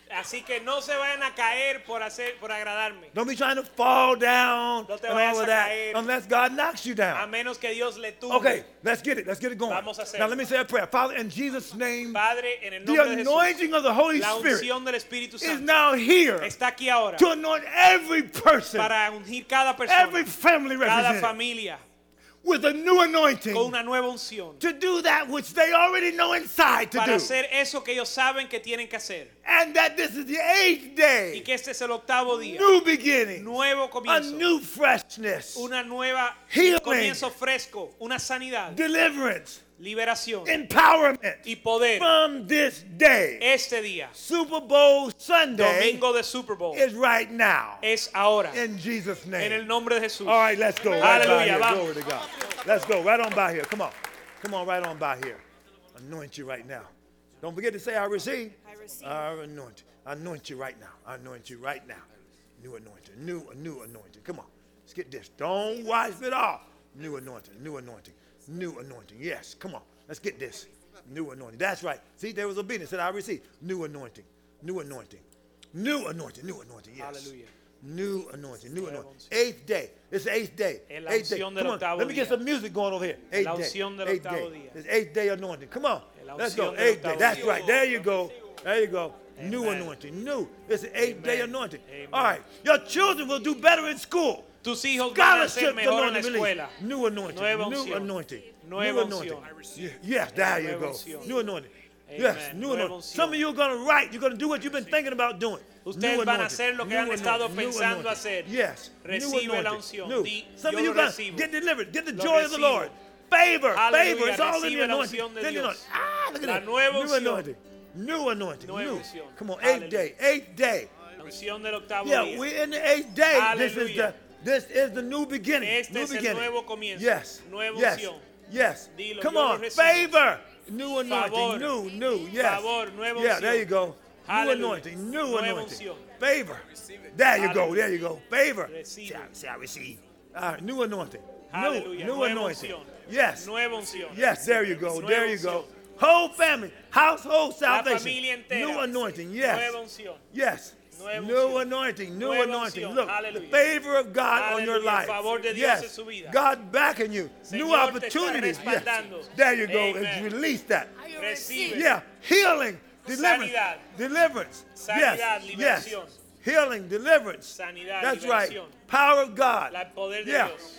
C: Así que no se vayan a caer por agradarme.
D: Don't be trying to fall down
C: No te
D: and
C: vayas
D: all
C: a
D: of that
C: caer.
D: unless God knocks you
C: A
D: down.
C: menos que Dios le tumbe.
D: Okay, let's get it. Let's get it going.
C: Vamos a hacerlo.
D: Now let me say a prayer. Father, in Jesus' name,
C: Padre, en el
D: the
C: nombre de Jesús,
D: anointing of the Holy
C: la
D: Spirit
C: unción del Espíritu
D: is
C: Santo
D: now here
C: está aquí ahora
D: to anoint every person,
C: para ungir cada persona,
D: every family
C: cada
D: represented
C: familia
D: with a new anointing
C: con una nueva unción
D: to do that which they already know inside to
C: para
D: do.
C: hacer eso que ellos saben que tienen que hacer.
D: And that this is the 8th
C: Y
D: day,
C: que este es el octavo día,
D: new beginning,
C: nuevo
D: a
C: comienzo,
D: new freshness,
C: una nueva
D: Healing.
C: comienzo fresco, una sanidad,
D: deliverance,
C: liberación
D: empowerment
C: y poder.
D: from this day.
C: Este día,
D: Super Bowl Sunday
C: domingo de Super Bowl,
D: is right now.
C: es ahora,
D: In Jesus'
C: en
D: name.
C: el nombre de Jesús.
D: All right, let's go. Right by
C: Hallelujah,
D: here.
C: vamos.
D: Glory to God. Let's go. Right on by here. Come on. Come on, right on by here. Anoint you right now. Don't forget to say, I receive.
E: I receive.
D: I anoint. I anoint you right now. I anoint you right now. New anointing. New anointing. Come on. Let's get this. Don't wipe it off. New anointing. New anointing. New anointing. Yes. Come on. Let's get this. New anointing. That's right. See, there was obedience. Said, I receive. New anointing. New anointing. New anointing. New anointing. Yes.
C: Hallelujah.
D: New anointing. New anointing. 8th day. It's the 8th day.
C: Es la
D: 8th day.
C: unción del
D: Come on.
C: octavo
D: Let me get
C: día.
D: some music going over here. 8th
C: La
D: day.
C: unción del
D: 8th
C: octavo
D: day.
C: día.
D: It's 8th day anointing. Come on.
C: La
D: Let's go.
C: unción del
D: 8th day.
C: octavo
D: That's
C: día.
D: right. There you go. There you go. New
C: Amen.
D: anointing. New. It's an 8th day
C: Amen.
D: anointing.
C: Amen.
D: All right. Your children will do better in school.
C: Tus hijos van a ser
D: Scholarship
C: mejor en la
D: anointing release.
C: escuela.
D: New anointing.
C: Nueva
D: New
C: unción.
D: anointing.
C: Nueva
D: New anointing.
C: unción.
D: Yes, there you
C: Nueva
D: go.
C: unción.
D: New anointing.
C: Amen.
D: Yes, new
C: Nueva
D: anointing.
C: unción.
D: Some of you are going to write. You're going to do what you've been thinking about doing.
C: Ustedes
D: New
C: van a
D: anointing.
C: hacer lo que
D: New
C: han estado
D: anointing. New
C: pensando
D: anointing.
C: hacer.
D: Yes.
C: Recibe
D: New
C: la
D: anointing.
C: unción.
D: New.
C: Di,
D: Some
C: yo
D: of you
C: lo
D: going to
C: recibo.
D: get delivered. Get the
C: Lo
D: joy of the
C: recibo.
D: Lord. Favor.
C: Hallelujah.
D: Favor. It's all in the
C: Recibe la
D: anointing.
C: unción de
D: Then you know,
C: Dios.
D: look at
C: La
D: that.
C: nueva
D: New
C: unción.
D: anointing. New anointing.
C: Nueva
D: New.
C: unción.
D: Come on.
C: Hallelujah.
D: 8th day. 8th day.
C: La unción del octavo
D: Yeah,
C: día.
D: we're in the 8th day.
C: Hallelujah.
D: This is the new beginning.
C: Este
D: New
C: es el
D: beginning.
C: nuevo comienzo.
D: Yes.
C: Nueva
D: Yes.
C: unción.
D: Yes.
C: Dilo,
D: Come
C: yo lo
D: on.
C: recibo.
D: Favor. New anointing.
C: Favor.
D: New. Yes.
C: Favor, nueva
D: Yeah,
C: unción.
D: there you go. New
C: Hallelujah.
D: anointing. New
C: Nueva
D: anointing.
C: unción.
D: Favor. There you go.
C: Hallelujah.
D: There you go. Favor.
C: Recibe.
D: Say, I receive. All right. New anointing.
C: Hallelujah.
D: New
C: Nueva
D: anointing.
C: unción.
D: Yes.
C: Nueva unción.
D: Yes, there you go.
C: Nueva
D: There you go.
C: unción.
D: Whole family, household
C: La
D: salvation.
C: familia entera.
D: New anointing. Yes.
C: Nueva unción.
D: Yes.
C: Nueva
D: New
C: unción.
D: anointing. New
C: Nueva
D: anointing.
C: unción.
D: Look, the
C: Hallelujah.
D: favor of God on your
C: Hallelujah.
D: life.
C: El favor de Dios
D: Yes.
C: en su vida.
D: God backing you. New
C: Señor te está
D: opportunities. Yes.
C: respaldando.
D: There you go.
C: Amen.
D: And release that.
C: Recibe.
D: Yeah. Healing. Deliverance.
C: Sanidad.
D: Deliverance.
C: Sanidad,
D: Yes. Yes.
C: liberación.
D: Healing. Deliverance.
C: Sanidad,
D: That's
C: liberación.
D: right. Power of God.
C: El poder de
D: Yeah.
C: Dios.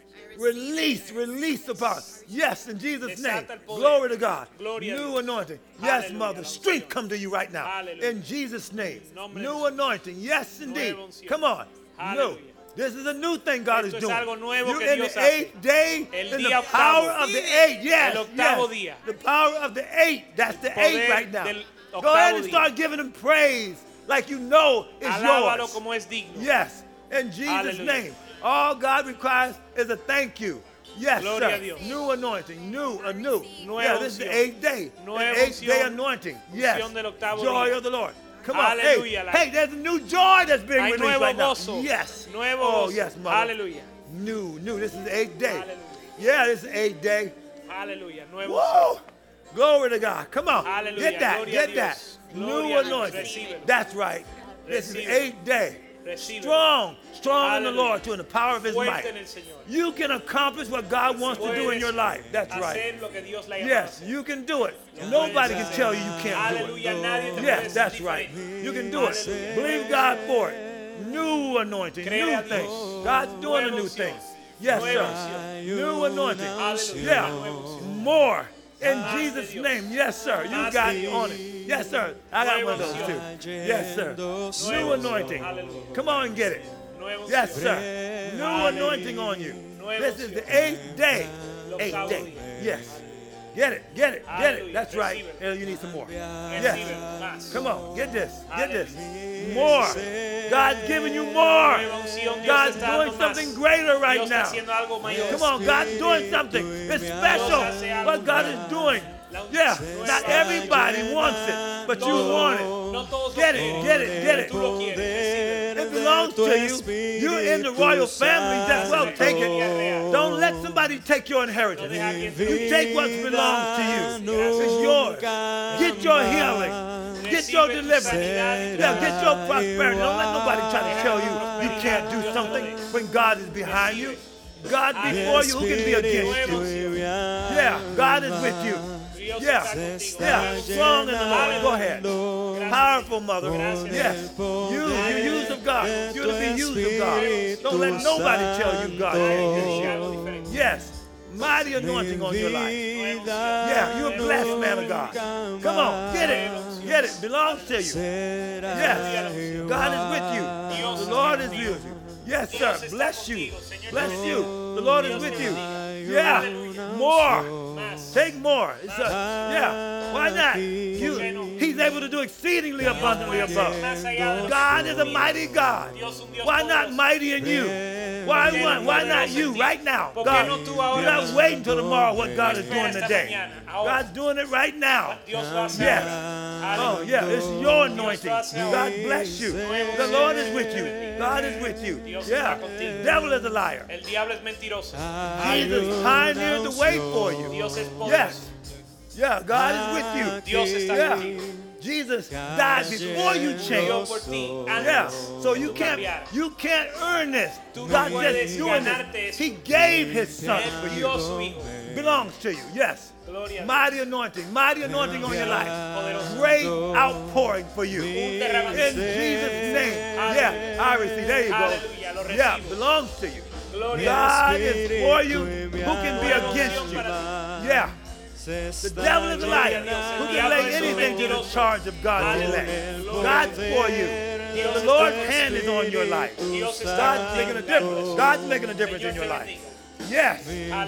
D: Release the power. Yes, in Jesus' name.
C: Desata el poder.
D: Glory to God.
C: Gloria a
D: New
C: Dios.
D: anointing. Yes,
C: Hallelujah,
D: Mother.
C: la
D: Strength
C: unción.
D: come to you right now.
C: Hallelujah.
D: In Jesus' name.
C: nombre de
D: New
C: Jesús.
D: anointing. Yes, indeed.
C: Nueva unción.
D: Come on. New.
C: Hallelujah.
D: This is a new thing God
C: Esto
D: is
C: es
D: doing.
C: algo nuevo
D: You're
C: que
D: in
C: Dios
D: the
C: hace.
D: 8th day,
C: El
D: in
C: día
D: the
C: octavo.
D: power of the 8th. Yes,
C: El octavo
D: yes.
C: día.
D: The power of the 8. That's the 8
C: Poder
D: right now.
C: del
D: Go
C: octavo
D: ahead and
C: día.
D: start giving him praise like you know it's
C: Alábalo
D: yours.
C: como es digno.
D: Yes, in Jesus'
C: Hallelujah.
D: name. All God requires is a thank you. Yes,
C: Gloria
D: sir.
C: a Dios.
D: New anointing, new.
C: Nueva
D: Yeah, this is the
C: unción.
D: 8th day.
C: Nueva
D: The 8th day
C: unción.
D: anointing. Yes.
C: Unción del octavo
D: Joy
C: día.
D: of the Lord. Come on.
C: Aleluya.
D: Hey, there's a new joy that's being
C: Hay
D: released
C: nuevo
D: right now.
C: gozo.
D: Yes.
C: Nuevo
D: Oh,
C: gozo.
D: yes, mother.
C: Aleluya.
D: New. This is the 8th day.
C: Hallelujah.
D: Yeah, this is the 8th day.
C: Aleluya. Nuevo
D: Whoa! Glory to God. Come on.
C: Hallelujah.
D: Get that.
C: Gloria a
D: Get
C: Dios.
D: that. New
C: Gloria a Dios.
D: anointing.
C: Recíbelo.
D: That's right. This is the
C: Recíbelo.
D: 8th day.
C: Recíbelo.
D: Strong in the
C: Hallelujah.
D: Lord, to in the power of His
C: Fuerte
D: might.
C: en el Señor.
D: You can accomplish what God wants to do in your life. That's right.
C: Hacer lo que Dios le ha llamado a
D: Yes,
C: hacer.
D: you can do it.
C: Lo
D: Nobody
C: puedes
D: can
C: hacer.
D: tell you you can't do
C: Aleluya.
D: it.
C: Nadie te puede
D: Yes,
C: decir
D: that's right.
C: diferente.
D: You can do it.
C: Hallelujah.
D: Believe God for it. New anointing,
C: Cree
D: new
C: a Dios.
D: thing. God's doing a
C: Nueva
D: new
C: unción.
D: thing. Yes,
C: Nueva
D: sir.
C: unción.
D: New anointing.
C: Hallelujah.
D: Yeah,
C: Nueva unción.
D: more. In
C: Más de
D: Jesus'
C: Dios.
D: name. Yes, sir. You
C: Más
D: got
C: de
D: it
C: Dios.
D: on it. Yes, sir. I got one of those
C: Nueva
D: too. Yes, sir.
C: Nueva
D: New
C: unción.
D: anointing.
C: Hallelujah.
D: Come on and get it.
C: Nueva
D: Yes,
C: unción.
D: sir. New
C: Hallelujah.
D: anointing on you.
C: Nueva
D: This is
C: unción.
D: the 8th day.
C: El
D: 8th
C: octavo
D: day.
C: día.
D: Yes. Get it. Get it. Get it.
C: Hallelujah.
D: That's right.
C: Receive it.
D: And you need some more.
C: Recíbelo.
D: Yes.
C: Más.
D: Come on. Get this. Get this.
C: Hallelujah.
D: More. God's giving you more.
C: Nueva unción. Dios
D: God's
C: está
D: doing
C: dando
D: something
C: más.
D: greater right
C: Dios está
D: now.
C: haciendo algo mayor.
D: Come on. God's doing something. It's special
C: hace algo
D: what God is doing. Yeah. Not everybody wants it, but you want it.
C: No todos
D: Get
C: lo
D: it,
C: quieren.
D: get it, get it.
C: Tú lo quieres. Recíbelo.
D: It belongs to you. You're in the royal family. Just well take it. Don't let somebody take your inheritance. You take what belongs to you. It's yours. Get your healing. Get your
C: Recibe tu
D: deliverance.
C: sanidad y tu
D: Yeah, get your
C: sanidad.
D: prosperity. Don't let nobody try to tell you you can't do something when God is behind you. God before you, who can be against you? Yeah, God is with you.
C: Dios
D: Yeah,
C: está contigo.
D: yeah, strong in the Lord. Go ahead. Powerful mother.
C: Gracias.
D: Yes, you use of God. You're to be used of God. Don't let nobody tell you God can't use you.
C: Algo diferente.
D: Yes, mighty anointing on your life. Yeah, you're a blessed man of God. Come on, get it. Get it. Belongs to you. Yes, God is with you. The Lord is with you. Yes, sir. Bless you. Bless you. The Lord is with you. Yeah, more. Take more. It's yeah. Why not? He's able to do exceedingly abundantly above. God is a mighty God. Why not mighty in you? Why not you right now? God, you're not waiting until tomorrow what God is doing today. God's doing it right now. Yes. Oh, yeah. It's your anointing. God bless you. The Lord is with you. God is with you. Yeah. The devil is a liar.
C: El diablo es mentiroso.
D: Jesus pioneered the way for you.
C: Dios es poderoso.
D: Yes. Yeah, God is with you.
C: Dios está
D: Yeah.
C: contigo.
D: Jesus died before you
C: Murió
D: changed.
C: por ti
D: Yeah.
C: antes.
D: So you
C: tú
D: can't
C: cambiaras.
D: earn this.
C: Tú no
D: God
C: puedes
D: just doing
C: ganarte
D: this.
C: eso.
D: He gave his son
C: Él
D: for
C: dio
D: you.
C: su hijo.
D: Belongs to you. Yes.
C: Gloria a Dios.
D: Mighty anointing on your life.
C: Poderoso.
D: Great outpouring for you. In
C: derramamiento.
D: Jesus' name.
C: Aleluya.
D: Yeah, I receive. There you go.
C: Aleluya, lo
D: Yeah,
C: recibo.
D: belongs to you.
C: Gloria a
D: God is for you. Who can be against you? Yeah. The devil is a liar. Who can lay anything to the charge of God's elect? God's for you. The Lord's hand is on your life.
C: Dios está
D: God's making a difference. God's making a difference in your life. Yes.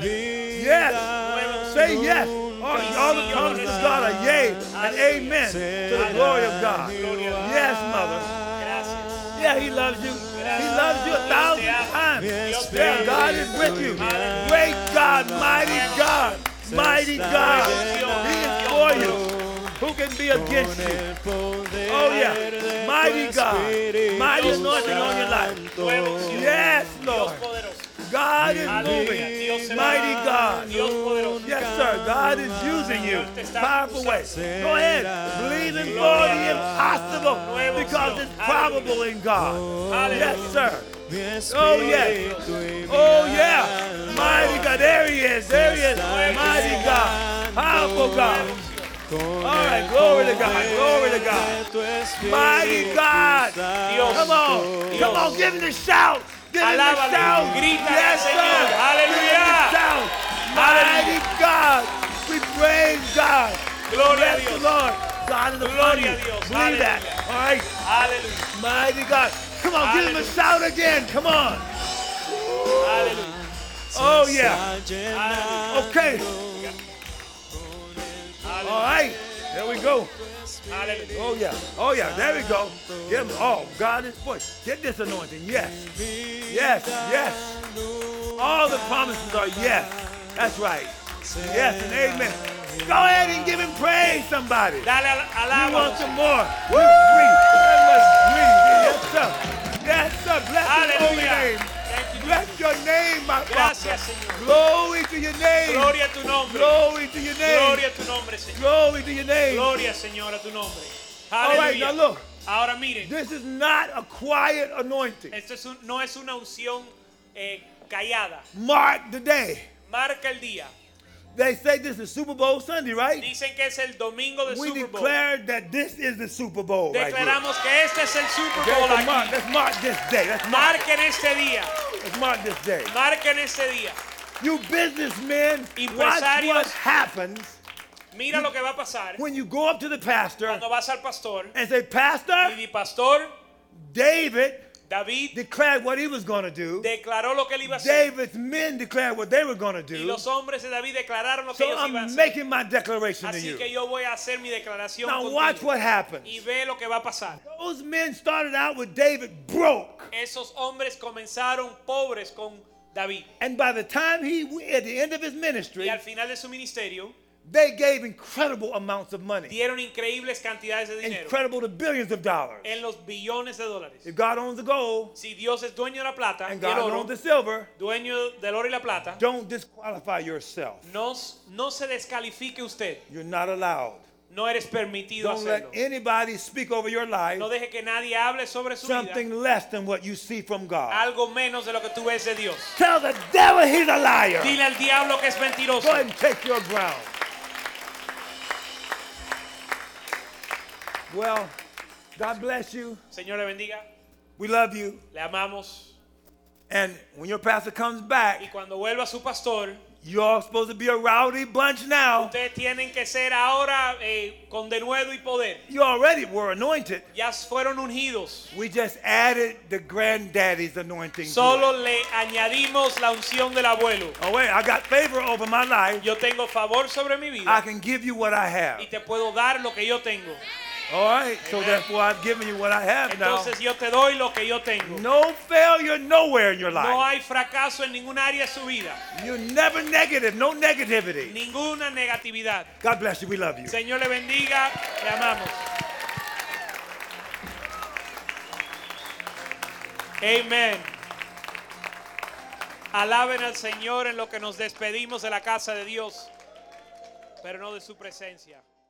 D: Yes. Say yes. All the promises of God are yea and amen to the glory of God. Yes, mother. Yeah, he loves you. He loves you 1,000 times. Yeah, God is with you. Great God, mighty God, mighty God. He is for you. Who can be against you? Oh, yeah. Mighty God. Mighty anointing on your life. Yes, Lord. God is moving. Mighty God. Yes, sir. God is using you. Powerful way. Go ahead. Believe in for the impossible because it's probable in God. Yes, sir. Oh, yes. Oh, yeah. Mighty God. There he is. There he is. Mighty God. Powerful God. All right. Glory to God. Glory to God. Mighty God. Come on. Come on. Give him a shout. Give him a
C: Alábale,
D: shout.
C: grítale,
D: Yes,
C: Señor.
D: sir.
C: Aleluya.
D: Give him a shout. Mighty God. We praise God.
C: Gloria a
D: Bless
C: Dios.
D: the Lord. God is upon
C: Gloria
D: you.
C: a Dios.
D: Believe that.
C: Aleluya.
D: All right.
C: Aleluya.
D: Mighty God. Come on. Give him a
C: Hallelujah.
D: shout again. Come on.
C: Aleluya.
D: Oh, yeah.
C: Aleluya.
D: Okay. All right. There we go.
C: Aleluya.
D: Oh, yeah. Oh, yeah. There we go. Give him. Oh, God is for you. Get this anointing. Yes. Yes. Yes. All the promises are yes. That's right. Yes and amen. Go ahead and give him praise, somebody.
C: Dale
D: You want
C: alábalo.
D: some more? Breathe. Yes, sir. Yes, sir. Bless his holy
C: Aleluya.
D: name.
C: Thank you.
D: Bless your name, my Father.
C: Gracias, Señor.
D: Glory to your name.
C: Gloria a tu nombre.
D: Glory to your name.
C: Gloria a tu nombre, Señor.
D: Glory to your name.
C: Gloria, Señor, a tu nombre.
D: All right, now
C: Aleluya.
D: look.
C: Ahora miren,
D: This is not a quiet anointing.
C: esto no es una unción callada.
D: Mark the day.
C: Marca el día.
D: They say this is Super Bowl Sunday, right?
C: Dicen que es el domingo de
D: We
C: Super Bowl.
D: declare that this is the Super Bowl right here.
C: Declaramos que este es el Super
D: Okay,
C: Bowl
D: so
C: aquí.
D: let's mark this day.
C: Marquen este día.
D: Let's mark this day.
C: Marquen este día.
D: You businessmen, watch
C: Empresarios.
D: what happens
C: Mira lo que va a pasar
D: when you go up to the pastor
C: cuando vas al pastor
D: and say,
C: y
D: Pastor,
C: di, pastor,
D: David
C: David
D: declared what he was going to do.
C: declaró lo que él iba a hacer.
D: David's men declared what they were going to
C: Y
D: do.
C: los hombres de David declararon lo que
D: So
C: ellos iban a
D: I'm
C: hacer.
D: making my declaration to
C: Así
D: you.
C: que yo voy a hacer mi declaración
D: Now watch
C: contigo.
D: what happens.
C: Y ve lo que va a pasar.
D: Those men started out with David broke.
C: Esos hombres comenzaron pobres con David.
D: And by the time at the end of his
C: Y
D: ministry,
C: al final de su ministerio,
D: they gave incredible amounts of money.
C: dieron increíbles cantidades de dinero.
D: Incredible to billions of dollars.
C: En los billones de dólares.
D: If God owns the gold
C: Si Dios es dueño de la plata
D: and
C: y el
D: God
C: oro,
D: owns the silver,
C: dueño del oro y la plata,
D: don't disqualify yourself.
C: no se descalifique usted.
D: You're not allowed.
C: No eres permitido
D: Don't let
C: hacerlo.
D: anybody speak over your life
C: No deje que nadie hable sobre su vida.
D: something less than what you see from God.
C: Algo menos de lo que tú ves de Dios.
D: Tell the devil he's a liar.
C: Dile al diablo que es mentiroso.
D: Go ahead and take your ground. Well, God bless you.
C: Señor le bendiga.
D: We love you.
C: Le amamos.
D: And when your pastor comes
C: Y
D: back,
C: cuando vuelva su pastor,
D: you're all supposed to be a rowdy bunch now.
C: ustedes tienen que ser ahora con denuedo y poder.
D: You already were anointed.
C: Ya fueron ungidos.
D: We just added the granddaddy's anointing to
C: Solo
D: it.
C: le añadimos la unción del abuelo.
D: Oh wait, I got favor over my life.
C: Yo tengo favor sobre mi
D: I
C: vida
D: can give you what I have.
C: y te puedo dar lo que yo tengo.
D: All right, so
C: Amen.
D: therefore I've given you what I have now.
C: Entonces yo te doy lo que yo tengo.
D: No failure nowhere in your
C: No
D: life.
C: hay fracaso en ningún área de su vida.
D: You're never negative, no negativity.
C: Ninguna negatividad.
D: God bless you, we love you.
C: Señor le bendiga, le amamos. Amén. Alaben al Señor en lo que nos despedimos de la casa de Dios, pero no de su presencia.